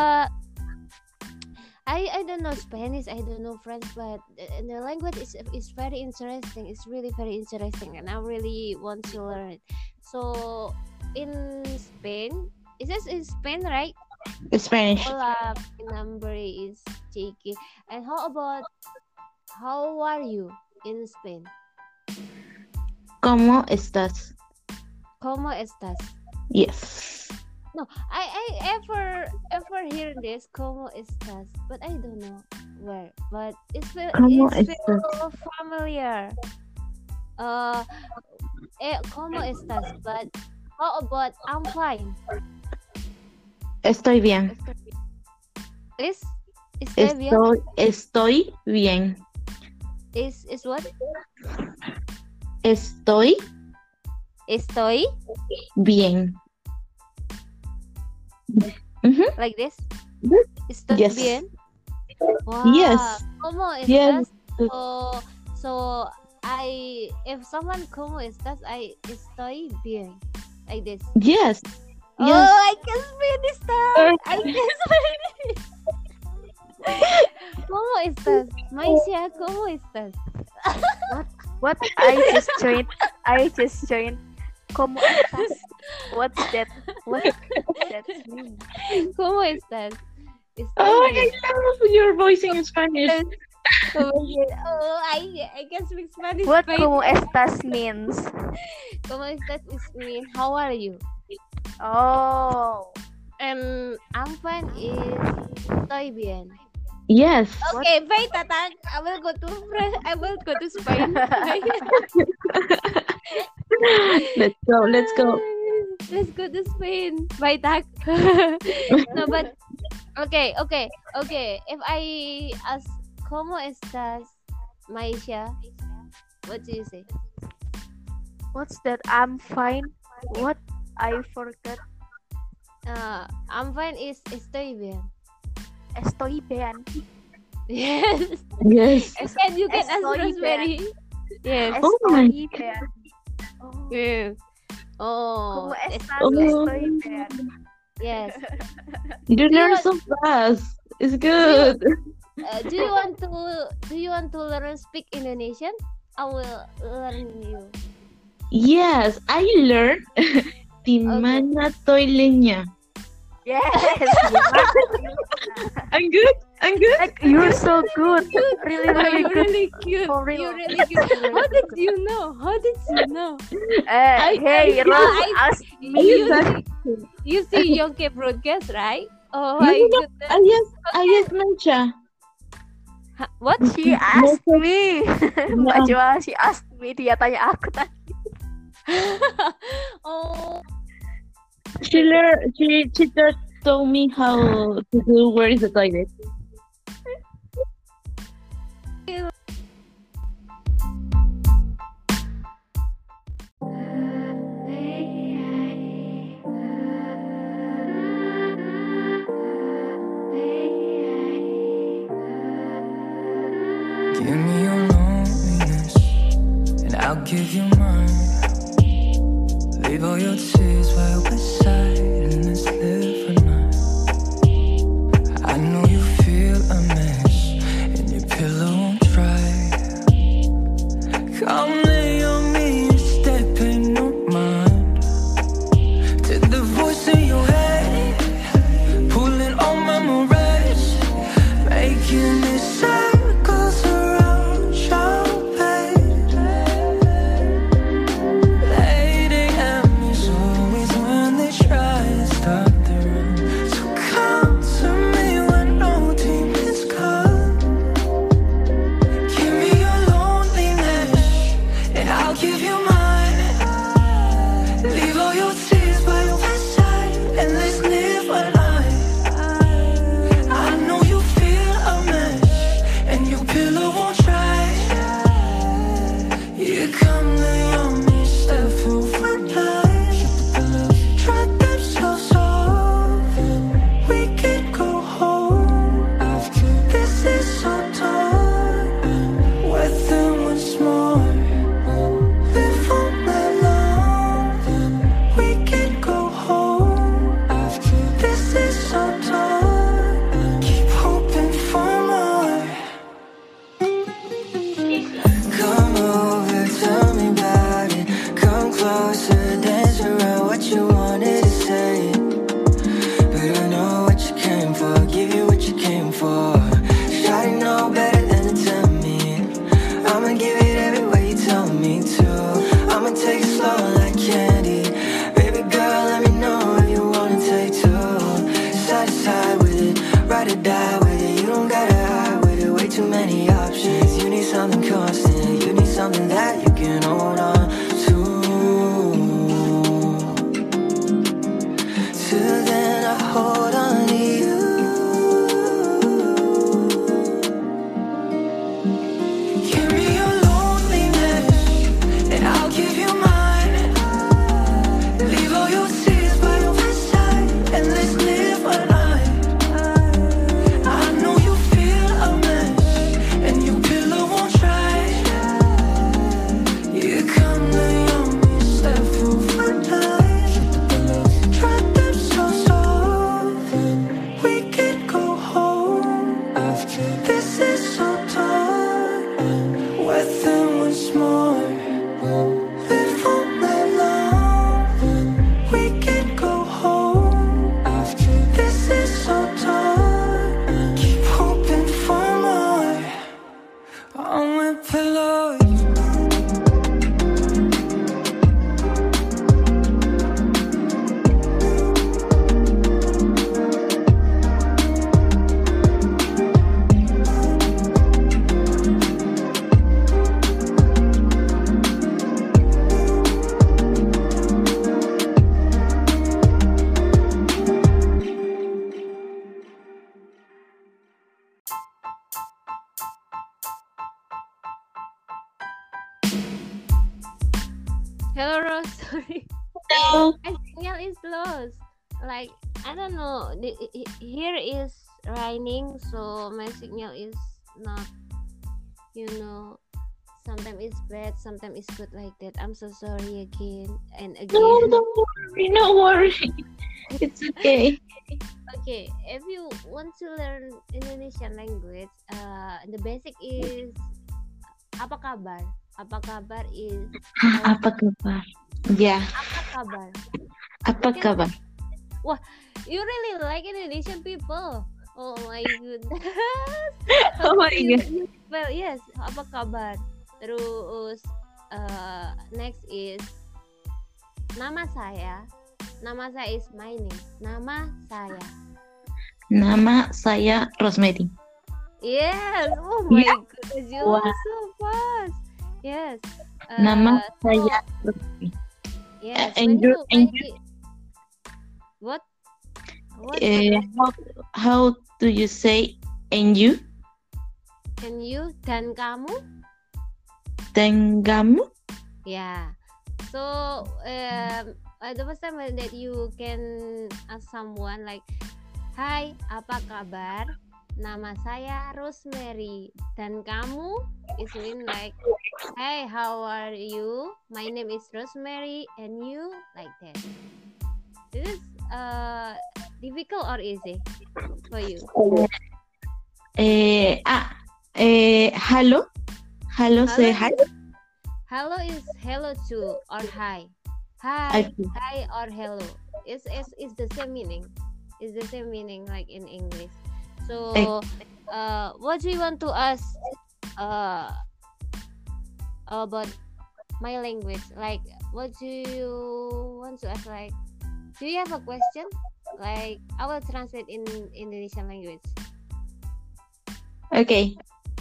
I don't know Spanish. I don't know French, but the language is very interesting. It's really very interesting, and I really want to learn it. So in Spain, it says in Spain, right? Spanish. Hola, my number is JK. And how are you in Spain? ¿Cómo estás? ¿Cómo estás? Yes. No, I ever hear this ¿Cómo estás? But I don't know where. But it's ¿Cómo feel familiar. ¿Cómo estás? But how about I'm fine? Estoy bien. Estoy bien. Estoy bien. Is what? Estoy Estoy bien. Mhm. like this. Yes. Estoy Yes. bien. Wow. Yes. ¿Cómo Yes. estás? So if someone ¿cómo estás? I estoy bien. Like this. Yes. Oh, Yes. I can finish that. I can finish. ¿Cómo estás? Maisha, ¿cómo estás? What? I just joined. ¿Cómo estás? What's that? What does that mean? ¿Cómo estás? Oh, I love your voice in Spanish. Oh, I can speak Spanish. What Wait. ¿cómo estás means? ¿Cómo estás is mean how are you? Oh. And I'm fine is estoy bien. Yes. Okay, wait, Tatang. I will go to Spain. Let's go. Let's go to Spain. Bye, Tak. No, but okay. If I ask, ¿cómo estás, Maisha? What do you say? What's that? I'm fine. What? I forgot. I'm fine is estoy bien. Estoy bien. Yes. Yes. And you can ask Estoy Rosemary. Yes. Oh my Estoy bien. Oh. Yes. Oh. ¿Cómo estás? Oh. Estoy bien. Yes. You learn so fast. It's good. Do you want to learn speak Indonesian? I will learn you. Yes, I learned di mana toiletnya. Yes. I'm good. Like, you're so good. Really You're good. really cute. For real. You're really cute. How did you know? Hey, Rose asked me. You see Yonke broadcast, right? Oh No, my no, no. goodness. Ayas Mancha. What? She asked me. Mbak Yeah. Joa, she asked me. Dia tanya aku tadi. Oh. She just told me how to do where is the toilet. Give me your loneliness, and I'll give you mine. Leave all your tears by your bedside, and let's live for night. I know you feel a mess, and your pillow won't dry. Come lay on me instead, pay no mind to the voice in your head, pulling on memories, making it circles around your bed. 8 a.m. is always when they try to stop the run. So come to me when no demons come. Give me your loneliness, and I'll give you mine. Leave all your tears by your bedside, and let's live a life. I know you feel a mess, and your pillow won't try. You come lay on me, step over life. Try themselves off, we can go home. This is so done. With them once more, live all night long. We can go home. This is so done. Keep hoping for more. Come over, tell me about it. Come closer, dance around what you wanted to say. But I know what you came for, give you what you came for. Shawty know better than to tell me. I'ma give it every way you tell me to. I'ma take it slow like candy. Baby girl, let me know if you wanna take two. Side to side with it, ride or die with it. You don't gotta hide with it, way too many options. You need something constant, you need something that you can hold on to. Till then I hold on. This is so dark. I'm wet them once more. Live all night long. We can go home after. This is so dark. Keep hoping for more. On my pillow. Hello, Rose. Sorry. Hello. My signal is lost. Like, I don't know. Here is raining, so my signal is not, sometimes it's bad, sometimes it's good like that. I'm so sorry again and again. No, don't worry. No worry. It's okay. Okay, if you want to learn Indonesian language, the basic is apa kabar? Apa kabar is Apa kabar? Ya. apa kabar? Apa kabar? Wah, you really like Indonesian people. Oh my goodness. Oh my god. Well, yes, apa kabar? Terus next is nama saya. Nama saya is my name. Nama saya. Nama saya Rosemary. Yes. Oh my Yeah. goodness, you Wow. are so fast. Yes. Nama so, saya Rosemary. yes. and you- What? What? How do you say and you? And you dan kamu? Dan kamu? Yeah. So the first time that you can ask someone like, "Hai, apa kabar? Nama saya Rosemary. Dan kamu?" It mean like, "Hey, how are you? My name is Rosemary, and you?" Like that. This is difficult or easy for you? Hello. Hello, say hi. Hello is hello to or hi. Hi, Okay. hi or hello. It's the same meaning. It's the same meaning like in English. So, what do you want to ask about my language? Like, what do you want to ask? Like, do you have a question? Like, I will translate in Indonesian language. Okay.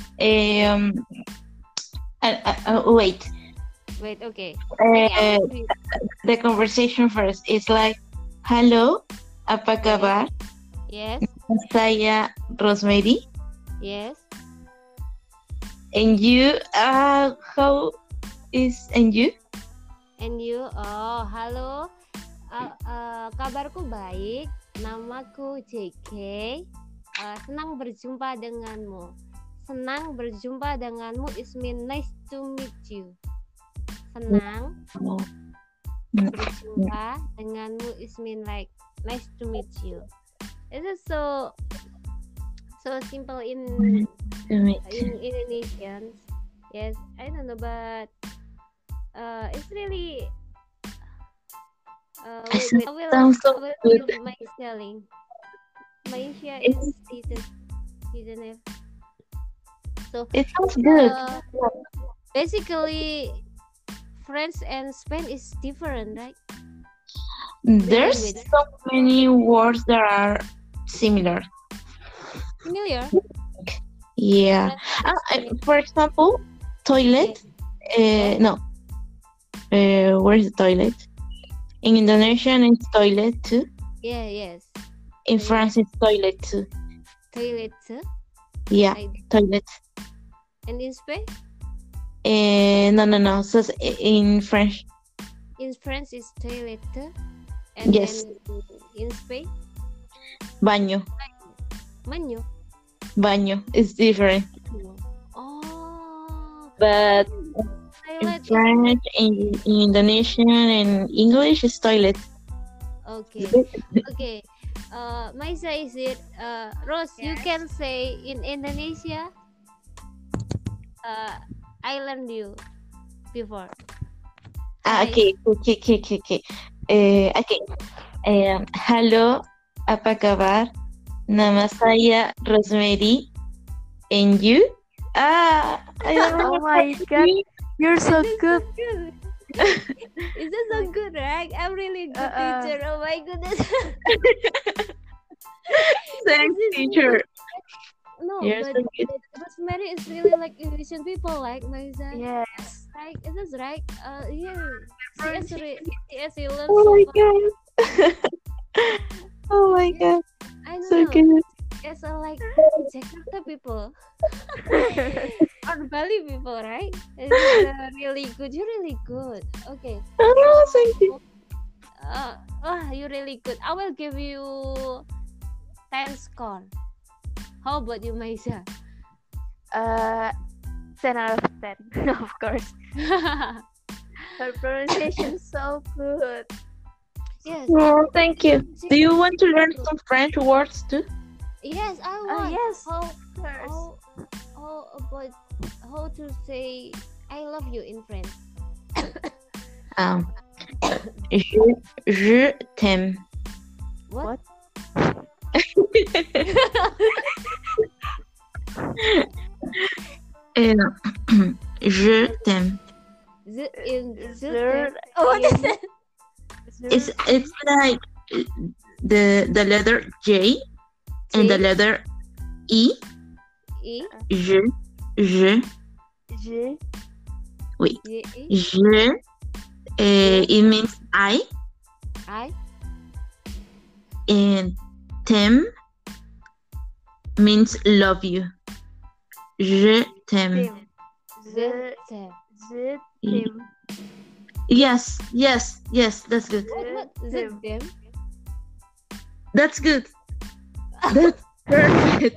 Wait. Wait, okay. Okay, The conversation first is like, hello, apa kabar? yes, Saya Rosemary. yes. And you, how is and you? And you, oh, halo, kabarku baik, namaku JK, senang berjumpa denganmu. Senang berjumpa denganmu is mean nice to meet you. Senang Oh. berjumpa denganmu is mean like nice to meet you. It is so simple in To meet you. Indonesians. Yes, I don't know, but it's really wait, I sounds so will good. give my spelling. My Asia is didn't have. So It sounds good. basically, French and Spain is different, right? There's language. so many words that are similar. Familiar? Yeah. French and Spain. For example, toilet. No. Where's the toilet? In Indonesian, it's toilet too. Yeah, yes. In Toilet. France, it's toilet too. Toilet, Yeah, like, toilet. and in Spain? No. So in French, In French is toilet, and Yes. then in Spain, baño. baño. Baño is different. Oh, But in toilet. French, in Indonesian, and English, it's toilet. Okay. Okay. Maisa, is it? Rose, you Yes. can say in Indonesia. I learned you before. Hi. Okay. Okay. Halo, apa kabar? Nama saya Rosemary. And you? I don't Oh know. my god, you're so This is good. good. Is this so good, right? I'm really good teacher. Oh my goodness. Thanks, This is teacher. No, You're but so good. Rosemary is really like Indonesian people, like Maisa. Yes. Right? Is this right? Yeah. She loves Oh my so much. god. Oh my god. I don't So know. good. It's like Jakarta people or Bali people, right? It's really good. You're really good. Okay. Oh, thank you. You're really good. I will give you 10 score. How about you, Maisa? 10 out of 10, of course. Her pronunciation is so good. Yes. Oh, thank you. Do you want to learn some French words too? Yes, I want. Yes, How of course. about how to say I love you in French? Je t'aime. What? Je t'aime. What is it? It's like the letter J and the letter E. E Je. Je. Wait. E Je. It means I. And t'aime means love you. Je t'aime. Je. Je t'aime. Yes, that's good. What? Them? That's good. That's perfect.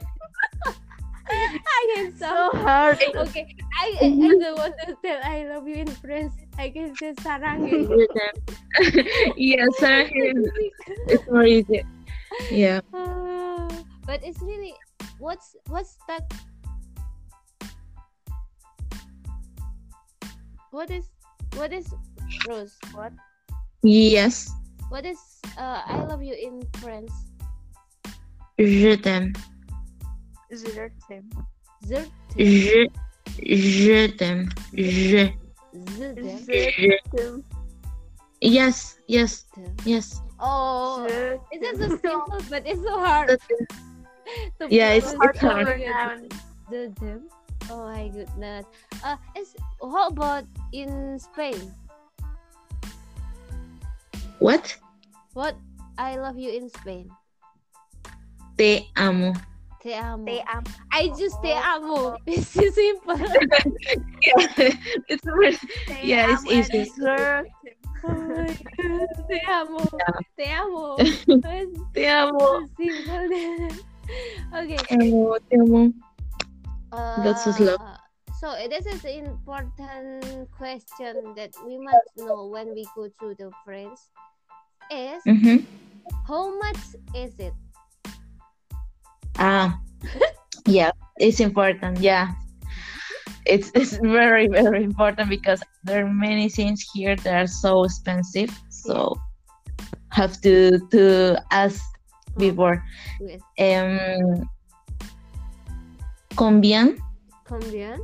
I can So hard. Okay, I don't want to tell I love you in French. I can say sarangin. Je t'aime. Yes, it's more easy. Yeah. But it's really what's that? What is Rose? What? Yes. What is I love you in French? Je t'aime. Je t'aime. Zert. Je t'aime. Je. Je t'aime. Yes. Oh, Je it's just so simple, but it's so hard. That's good. to Yeah, it's pronounce. hard. Them. Oh my goodness. How about in Spain? What? What I love you in Spain? Te amo. Te amo. Te amo. I just te amo. It's so simple. It's very, yeah, it's Te amo easy. and je Oh my God. Te amo. Te amo. It's Te amo. so simple. Okay. Te amo. That's so slow. So this is an important question that we must know when we go to the France. Is how much is it? Yeah, it's important. Yeah, it's very important because there are many things here that are so expensive. So have to ask before. Yes. Combien Combien?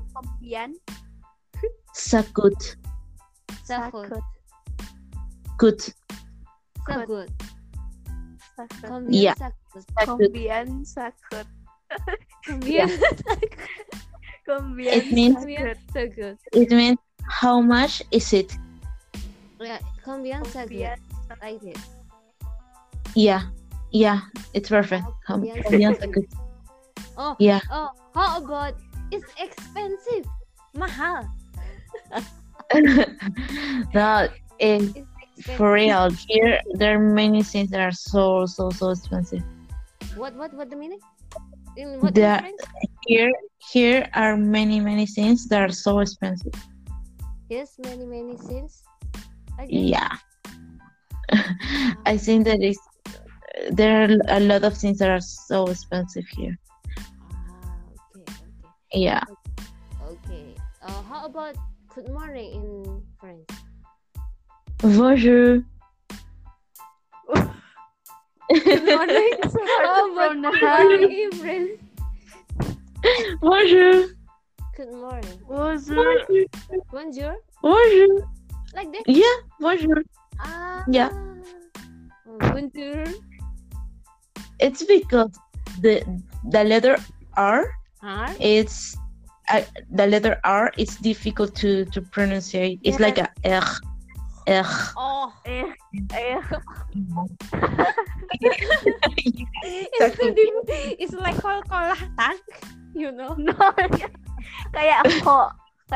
ça coûte? Ça coûte. Coûte. Ça coûte. Combien Yeah. ça coûte? Ça coûte. Combien ça coûte? Combien Combien It means ça coûte? it means how much is it? Yeah. Combien ça coûte? Like this. Yeah, it's perfect. Combien Combien ça ça coûte? Oh. Yeah. Oh. How about it's expensive? Mahal. No, It's expensive. for real, here there are many things that are so expensive. What the meaning? In what There- French? Here are many things that are so expensive. Yes, many things. Okay. Yeah. I think that there are a lot of things that are so expensive here. Okay. Yeah. Okay. How about good morning in French? Bonjour. Good morning. So hard to How about pronounce. good morning in French? Bonjour. Good morning. Bonjour. Bonjour. Bonjour. Like that? Yeah, bonjour. Yeah. Bonjour. It's because the letter R R. it's the letter R is difficult to pronounce. It's like a R. Oh. It's like kol-kolah tang, you know. No, kayak aku.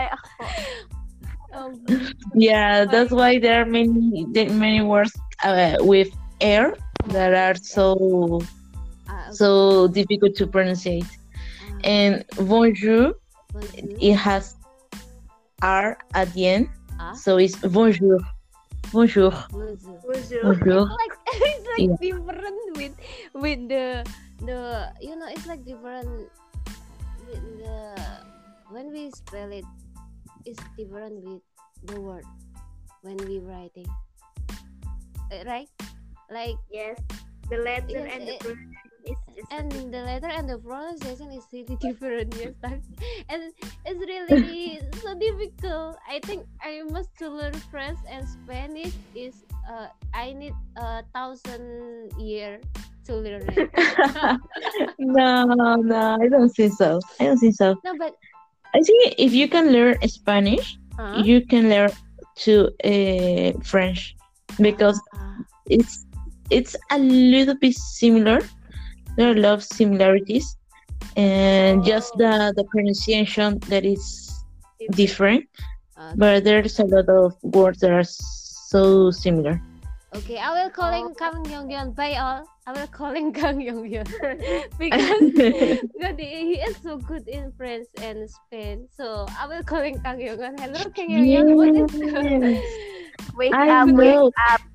Yeah, that's why there are many words with R that are so difficult to pronounce. And bonjour, it has R at the end, so it's bonjour. Bonjour. Bonjour. It's like Yeah. different with the you know, it's like different with the when we spell it, it's different with the word when we writing, right? Like Yes, the letter Yes, and the it- pronunciation is just and the letter and the pronunciation is really different, yes, and it's really so difficult. I think I must to learn French and Spanish is I need 1,000 year to learn it. No, I don't think so. No, but I think if you can learn Spanish, you can learn to French because it's a little bit similar. There are a lot of similarities, and just the pronunciation that is different. But there's a lot of words that are so similar. Okay, I will calling Kang Yongyeon. Bye all. I will calling Kang Yongyeon because he is so good in French and Spain. So I will calling Kang Yongyeon. Hello, Kang Yongyeon. What is wake I up, know. wake up.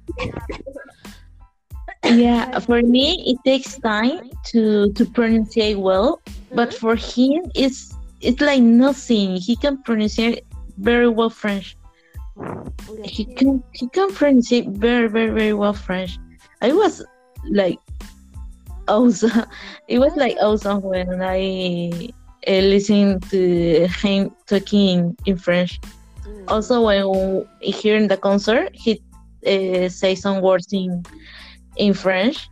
Yeah, for me it takes time to pronounce well, but for him it's like nothing. He can pronounce very well French. He can pronounce very very well French. I was like awesome. It was like awesome when I listened to him talking in French. Also, when here in the concert, he say some words in French.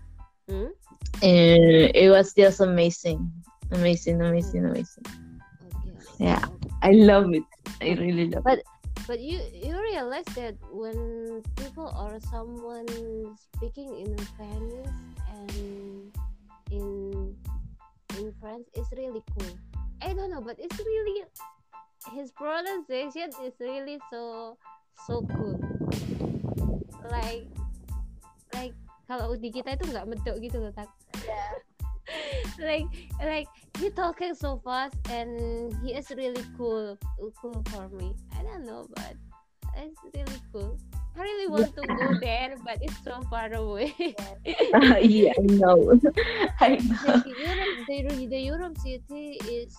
It was just amazing. Okay. Yeah, I love it. I really love it. But you realize that when people or someone speaking in Spanish and in French, it's really cool. I don't know, but it's really his pronunciation is really so cool. Like kalau di kita itu nggak medok gitu loh, tak? like he talking so fast and he is really cool for me. I don't know, but it's really cool. I really want to go there, but it's so far away. Yeah, I know. I know. The Europe city is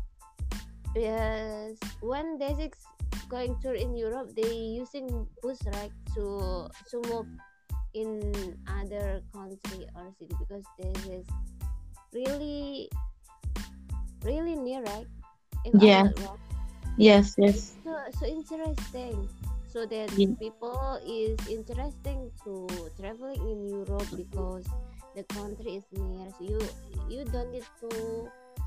when there's going tour in Europe, they using bus, right, to move in other country or city because this is really near, right? If Yeah. I'm not wrong. Yes. So interesting. So that people is interesting to traveling in Europe because the country is near. So you don't need to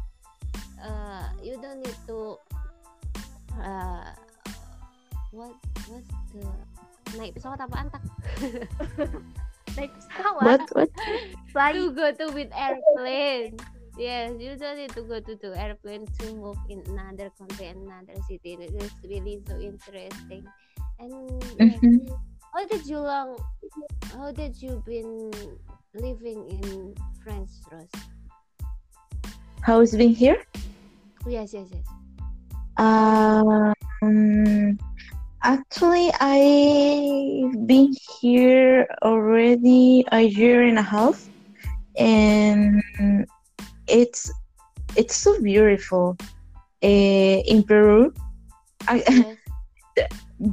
what's the naik pesawat apaan, tak? Naik pesawat. What? Fly. To go to with airplane. Yes, you don't need to go to airplane to move in another country and another city. It is really so interesting. And how did you been living in France, Rose? How is being here? Yes. Actually, I've been here already a year and a half. and it's so beautiful. In Peru, I, Yes.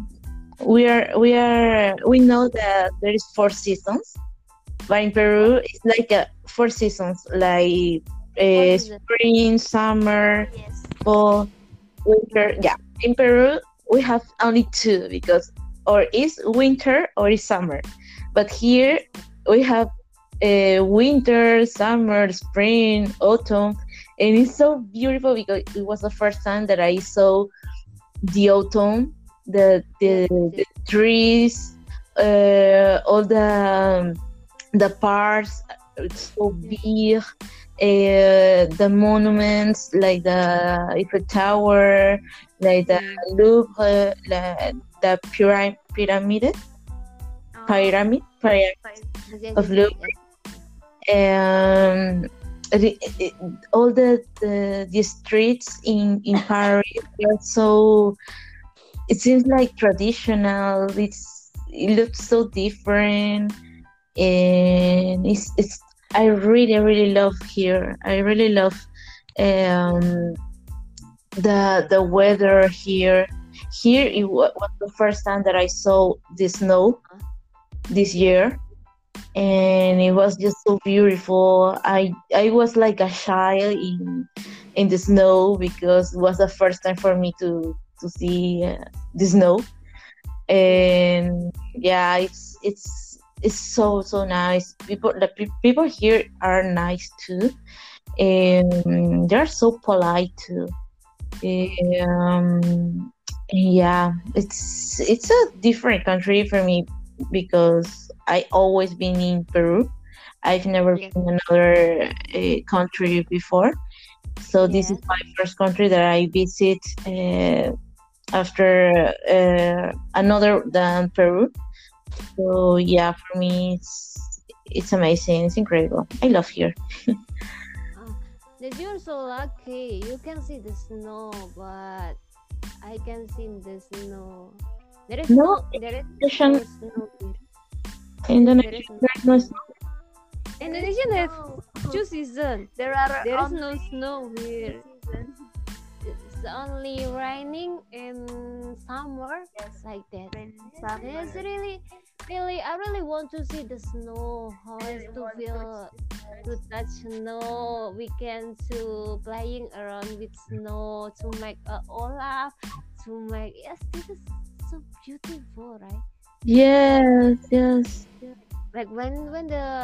we know that there is 4 seasons, but in What? Peru it's like 4 seasons, like What is it? spring, summer, Yes. fall, winter. Yeah, in Peru we have only two because or is winter or is summer, but here we have winter, summer, spring, autumn, and it's so beautiful because it was the first time that I saw the autumn, Yes, the yes. trees, all the parks, it's so Yes. big. The monuments like the Eiffel Tower, like the Mm. Louvre, the pyramid, Oh, pyramid five. Yes, yes, of yes, yes, Louvre, yes. and all the streets in Paris are so. It seems like traditional. It looks so different, and it's. I really love here. I really love Yes. um, the weather here. Here it was the first time that I saw the snow Huh? this Yes. year, and it was just so beautiful. I was like a child in the snow because it was the first time for me to see the snow, Yes. and yeah, it's so nice. People here are nice too, and they're so polite too. Okay. Um, yeah, it's a different country for me because I always been in Peru. I've never Yes. been in another country before, so this is Yes. my first country that I visit after another than Peru. So yeah, for me it's amazing. It's incredible. I love here. Ah, that you're so lucky. You can see the snow, but I can see the snow. There is No, no, there is no Indonesian, snow here. There Indonesian, is no there's no snow. Indonesia have No, two seasons. there are There is no only snow two here. seasons. It's only raining in summer, Yes, like that. rain and It's summer. really, really, I really want to see the snow. How I is really to want feel to to touch snow? Weekend to playing around with snow to make a Olaf to make yes, this is so beautiful, right? Like Yes. like when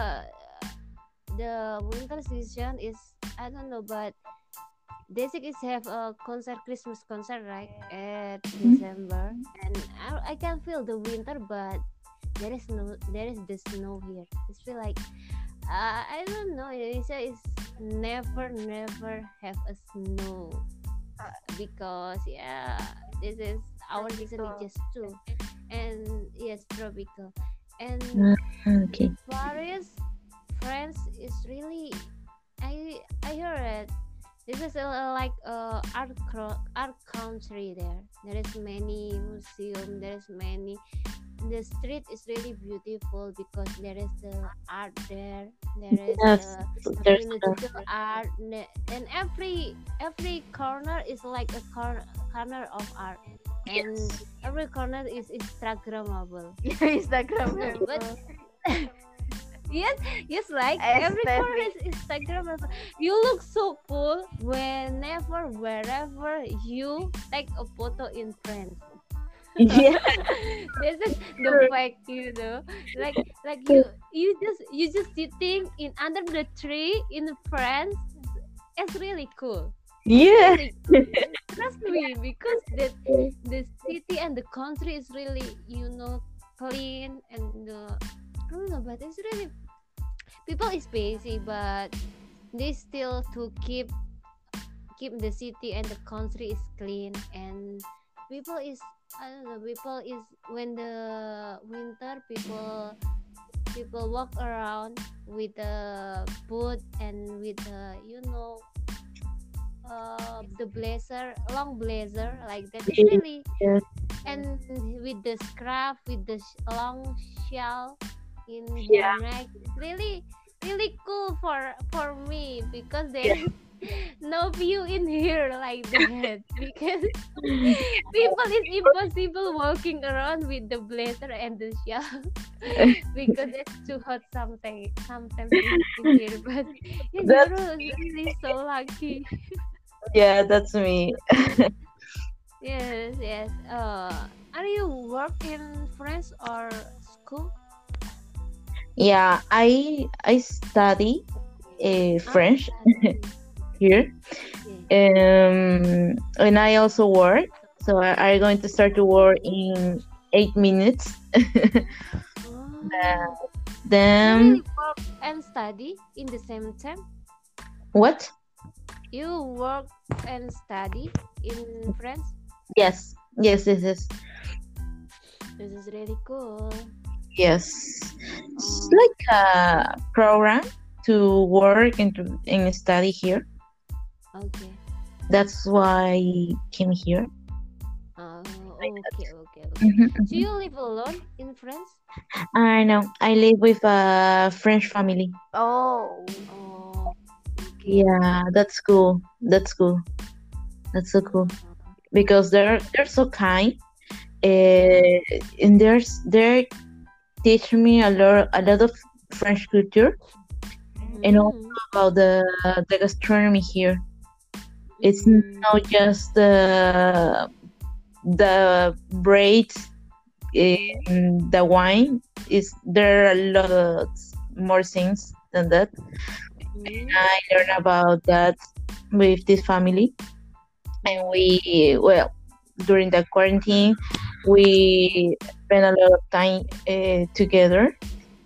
the winter season is I don't know, but Desik is have a concert Christmas concert right at December, and I can feel the winter, but there is the snow here. It's feel like I don't know. Indonesia is never have a snow because yeah, this is our season is tropical. just two, and yes, tropical, and Okay. Paris, France is really I heard this is like art country there. There is many museum. There is many. The street is really beautiful because there is the art there. There is Yes, the there's musical art, and every corner is like a corner of art, and yes. every corner is Instagrammable. But Instagrammable. yes, yes, like every corner Aesthetic. is Instagrammable. You look so cool wherever you take a photo in France. Yeah. This is the fact, like you just sitting in under the tree in France. It's really cool. Yeah. Really, trust me, because the city and the country is really clean and I don't know, but it's really people is busy, but they still to keep the city and the country is clean, and people is I don't know, people is when the winter people walk around with the boot and with the the blazer, long blazer like that. It's really Yes. and with the scarf with the long shawl in Yeah. their neck. It's really really cool for me because there's no view in here like that because people is impossible walking around with the blazer and the shawl because it's too hot sometimes in here. But yeah, Zero is really so lucky. Yeah, that's me. Yes. Are you work in France or school? Yeah, I study French here, Okay. and I also work. So I'm going to start to work in 8 minutes. Oh, you Then really work and study in the same time? what? You work and study in France? Yes, yes, this is This is really cool. yes. It's Oh, like a program to work and study here. okay. That's why I came here. Oh, okay. Mhm, Do mhm. you live alone in France? I know. I live with a French family. Oh, Oh, okay. Yeah, that's cool. That's cool. That's so cool because they're so kind. Uh, and they teach me a lot of French culture and also Mm, about the gastronomy here. It's mm, not just the bread and the wine. Is there are a lot more things than that. mm, I learned about that with this family, and we well during the quarantine we spent a lot of time together,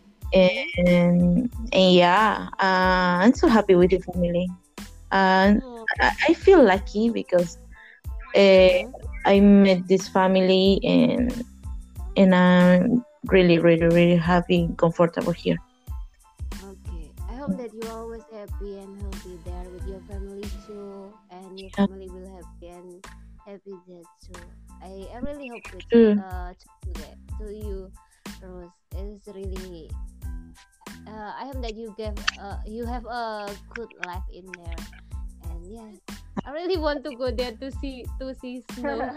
and yeah, I'm so happy with the family, and oh, I feel lucky because uh, I met this family, and I'm really really really happy and comfortable here. okay. I hope that you always happy and healthy there with your family too, and your Yeah, family will happy and happy there too. I really hope true. to do that to you, Rose. It's really. I hope that you have a good life in there, and yeah, I really want to go there to see snow.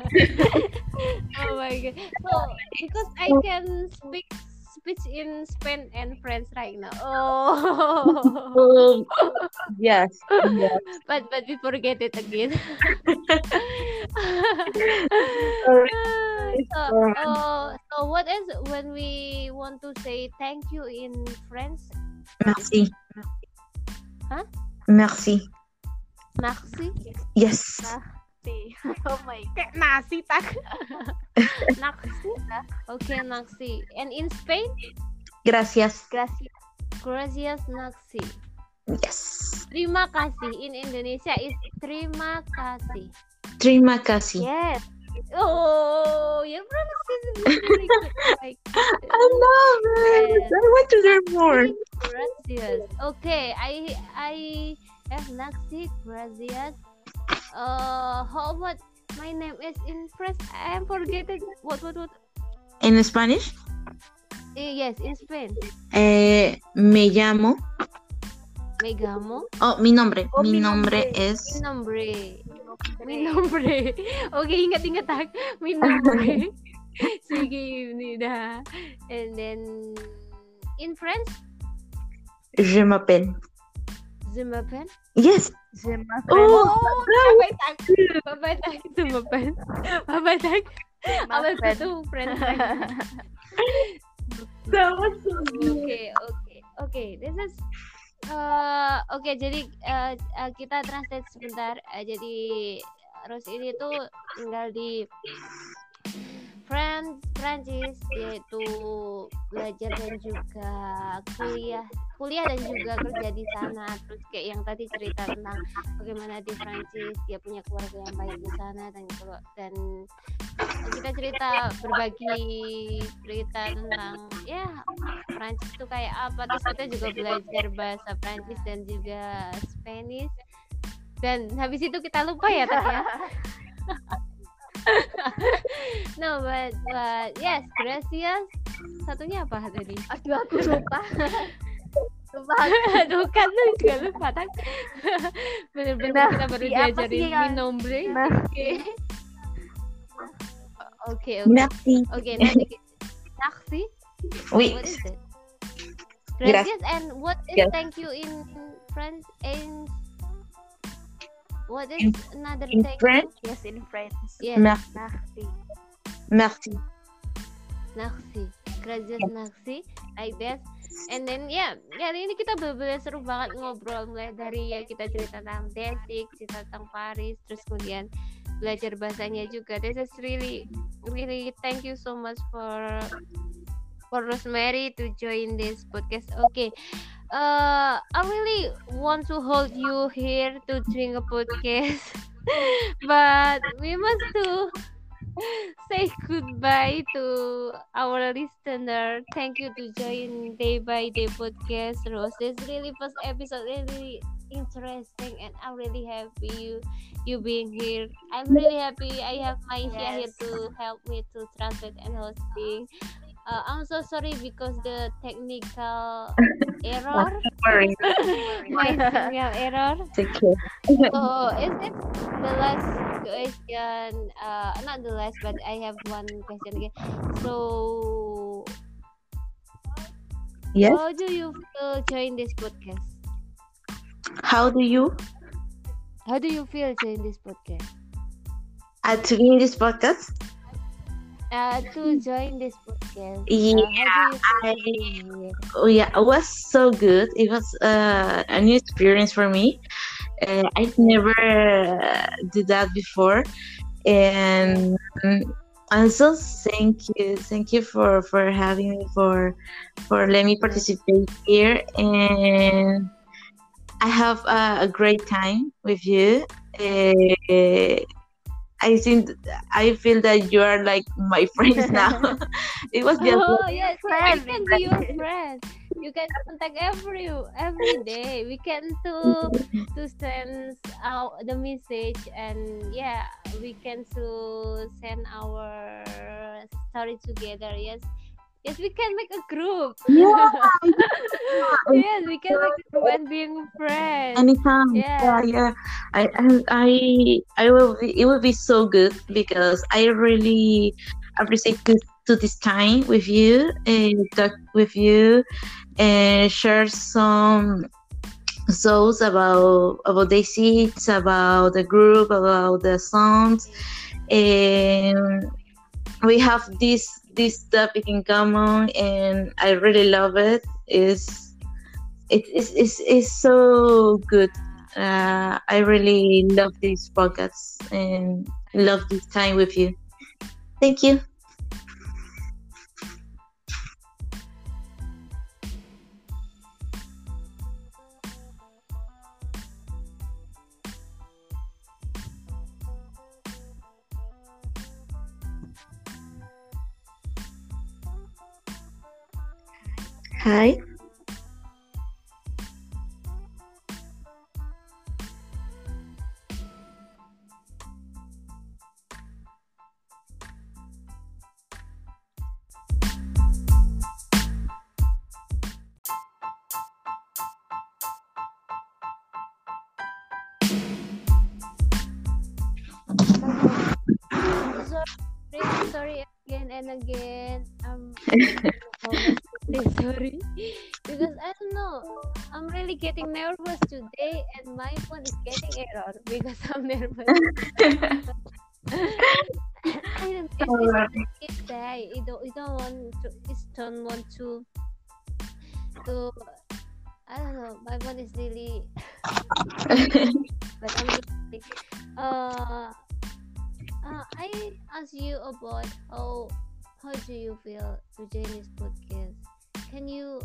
Oh my god! So because I can speak in Spain and French right now. Oh, Um, yes, yes. but we forget it again. Sorry, so for so what is when we want to say thank you in French? merci, Huh? merci. Naksi? Yes, see. Oh my God. Kayak nasi tak? Naksi? Okay, naksi. And in Spain? gracias. Gracias. Gracias naksi. Yes, Terima kasih. In Indonesia is terima kasih. terima kasih. Yes. Oh, your pronunciation is really good. Like, I love it. yes. I want to learn more. Gracias. Okay, I have naksi. Gracias. How about my name is in French? I am forgetting. What? En Spanish, Yes, in Spain. me llamo. Me llamo. Oh, mi nombre. Oh, Mi mi nombre nombre. es. Mi nombre. Mi nombre. Okay, ingat tak. Mi nombre. Sige, Nida. And then in French, Je m'appelle. je m'appelle. Yes. Je m'appelle. Oh, Babay tak. Babay tak. Je m'appelle. Babay tak. Je Apa m'appelle. itu French? that was so good. Okay. This is oke, jadi kita translate sebentar. Jadi Rose ini tuh tinggal di Prancis, yaitu belajar dan juga kuliah dan juga kerja di sana. Terus kayak yang tadi cerita tentang bagaimana di Prancis dia punya keluarga yang baik di sana, dan kita berbagi cerita tentang ya Prancis itu kayak apa. Terus kita juga belajar bahasa Prancis dan juga Spanish, dan habis itu kita lupa ya tadi ya. No, but yes, gracias. Satunya apa tadi? Aduh, aku lupa. Aduh kan lu juga lupa kan. Bener-bener kita baru diajarin minum break. Oke. Merci. Okay, nanti merci. Oui. What is it? Gracias. And what is thank you in French? In what is another In thank French? you? Yes, in French. Yes. Merci. Merci. Merci. Gracias, merci. Like that. And then hari ini kita bener-bener seru banget ngobrol, mulai dari kita cerita tentang Desik, cerita tentang Paris, terus kemudian belajar bahasanya juga. This is really thank you so much for Rosemary to join this podcast. Okay. I really want to hold you here to doing a podcast. But we must to say goodbye to our listener. Thank you to join Day by Day podcast, Rose. This really first episode really interesting, and I'm really happy you being here. I'm really happy I have Maisha here to help me to translate and hosting. I'm so sorry because the technical error. My signal error. Take care. So is it the last question? Not the last, but I have one question again. So, Yes. how do you feel join this podcast? How do you feel join this podcast? to be in this podcast? To join this podcast. Yeah, How do you feel being here? it was so good. It was a new experience for me. I've never did that before, and also thank you for having me, for letting me participate here, and I have a great time with you. I feel that you are like my friends now. It was just Yes, I can be your friend. You can contact every day. We can to send out the message, and we can to send our story together. Yes, we can make a group. yeah. Yes, we can make a group and being friends. Anytime. Yeah. Yeah. I will be. It will be so good because I really appreciate this time with you and talk with you and share some thoughts about the seats, about the group, about the songs, and we have this topic in common, and I really love it. It's so good. I really love this podcast and love this time with you. Thank you. Hi. Sorry again and again. Sorry because I don't know. I'm really getting nervous today, and my phone is getting error because I'm nervous. I don't get it. I don't want to. I don't know. My phone is really. But I'm really. I asked you about how do you feel to join this podcast? Can you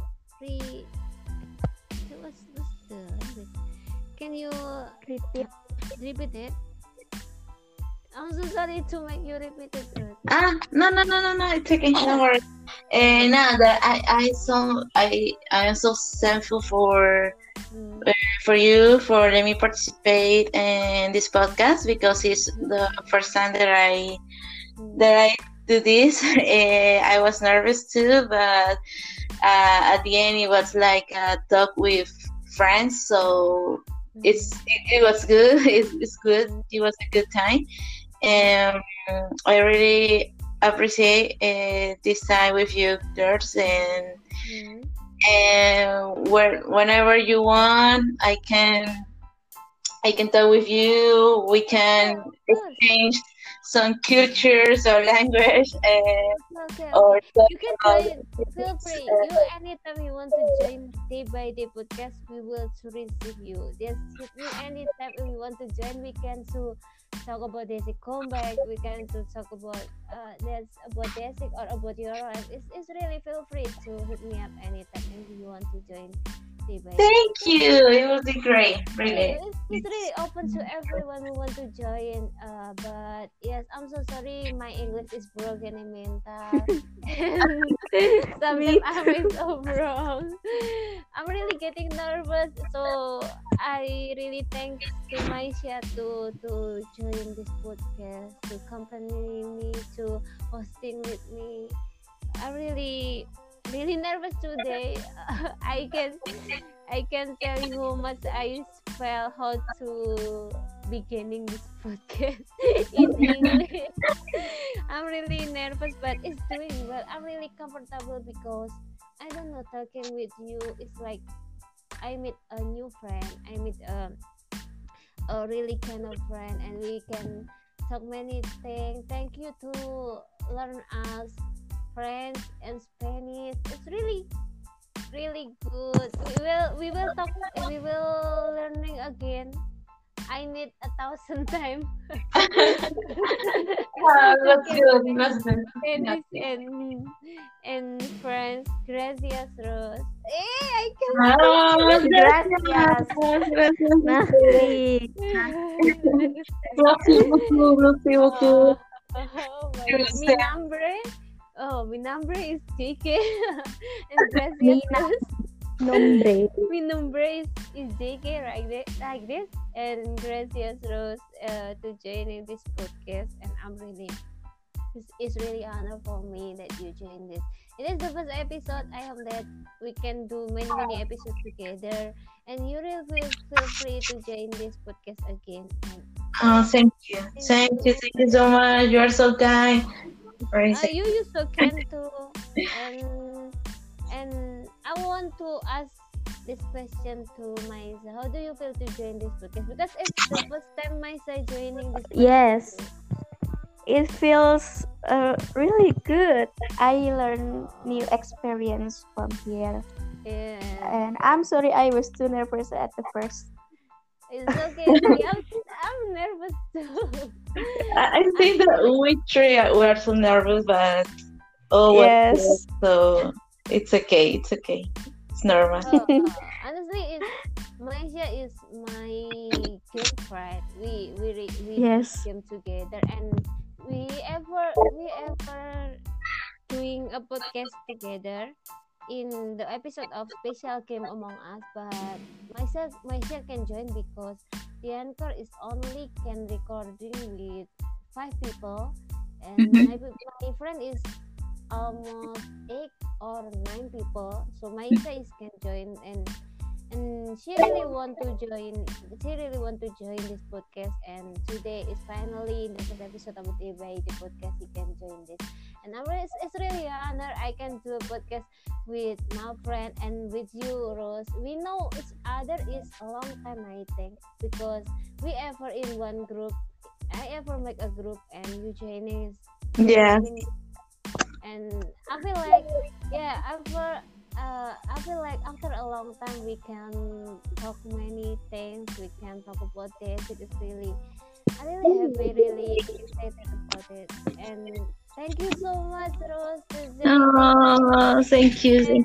what's the language? Can you repeat it? I'm so sorry to make you repeat it. No, it's okay. No worries. That I am so thankful for you for letting me participate in this podcast because it's the first time that I do this. I was nervous too, but at the end it was like a talk with friends, so it was good. It's good. It was a good time, and I really appreciate this time with you girls, and whenever you want, I can talk with you. We can exchange some cultures or language, or you can join. Feel free. You anytime you want to join Day by Day podcast, we will to receive you. Just hit me anytime if you want to join. We can to talk about basic comeback. We can to talk about that's about basic or about your life. It's really feel free to hit me up anytime if you want to join. Thank you. It will be great, really. It's really open to everyone who want to join. But yes, I'm so sorry. My English is broken and mental. Sometimes I'm so wrong. I'm really getting nervous. So I really thanks to Maisha to join this podcast, to accompany me, to hosting with me. I'm really nervous today. I can tell you how much I felt how to beginning this podcast in English. I'm really nervous, but it's doing well. I'm really comfortable because I don't know, talking with you. It's like I meet a new friend. I meet a really kind of friend, and we can talk many things. Thank you to learn us French and Spanish. It's really good. We will talk. We will learning again. I need 1,000 times. That's good. That's good. Spanish and French. Gracias, Rose. I can. Gracias. Merci beaucoup. My number is JK. And gracias. Mi nombre is JK like this. And gracias, Rose, to joining this podcast. And I'm really, it's really honor for me that you joined this. It is the first episode. I hope that we can do many episodes together. And you really feel free to join this podcast again. Thank you. Thank you so much. You are so kind. You so kind too. And I want to ask this question to Maisa. How do you feel to join this podcast? Because it's the first time Maisa joining this podcast. Yes, it feels really good. I learn new experience from here. Yeah. And I'm sorry I was too nervous at the first. It's okay. I'm nervous too. I think that we three were so nervous, but yes. So it's okay. It's normal. Honestly, Maisha is my girlfriend. We yes. came together, and we ever doing a podcast together in the episode of Special Game Among Us, but Maisha can join because the anchor is only can recording with 5 people, and my friend is almost 8 or 9 people. So Maisha can join, and she really want to join this podcast, and today is finally the first episode of the podcast. She can join this, and it's really an honor I can do a podcast with my friend and with you, Rose. We know each other is a long time, I think, because we ever in one group. I ever make a group and you joining. Yeah. And I feel like I feel like after a long time we can talk many things. We can talk about this. It is really, I really happy, really excited about it. And thank you so much, Rose. Thank you.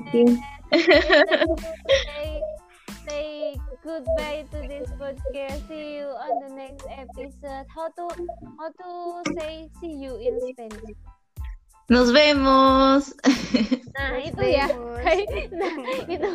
Say goodbye to this podcast. See you on the next episode. How to say see you in Spanish? Nos vemos. Nah, itu ya. Nah, itu.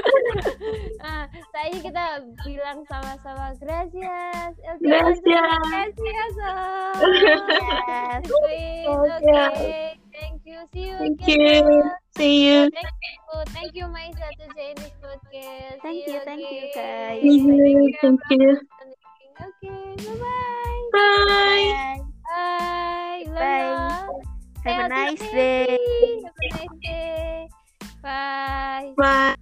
Tadi kita bilang sama-sama gracias. Gracias. Yes. Okay. Thank you. See you again. You. See you. Thank you, Maisa, to join this podcast. Thank you guys. Thank you. Okay, bye-bye. Bye. Bye. Bye. Have a nice Healthy, day. Have a nice day. Bye. Bye.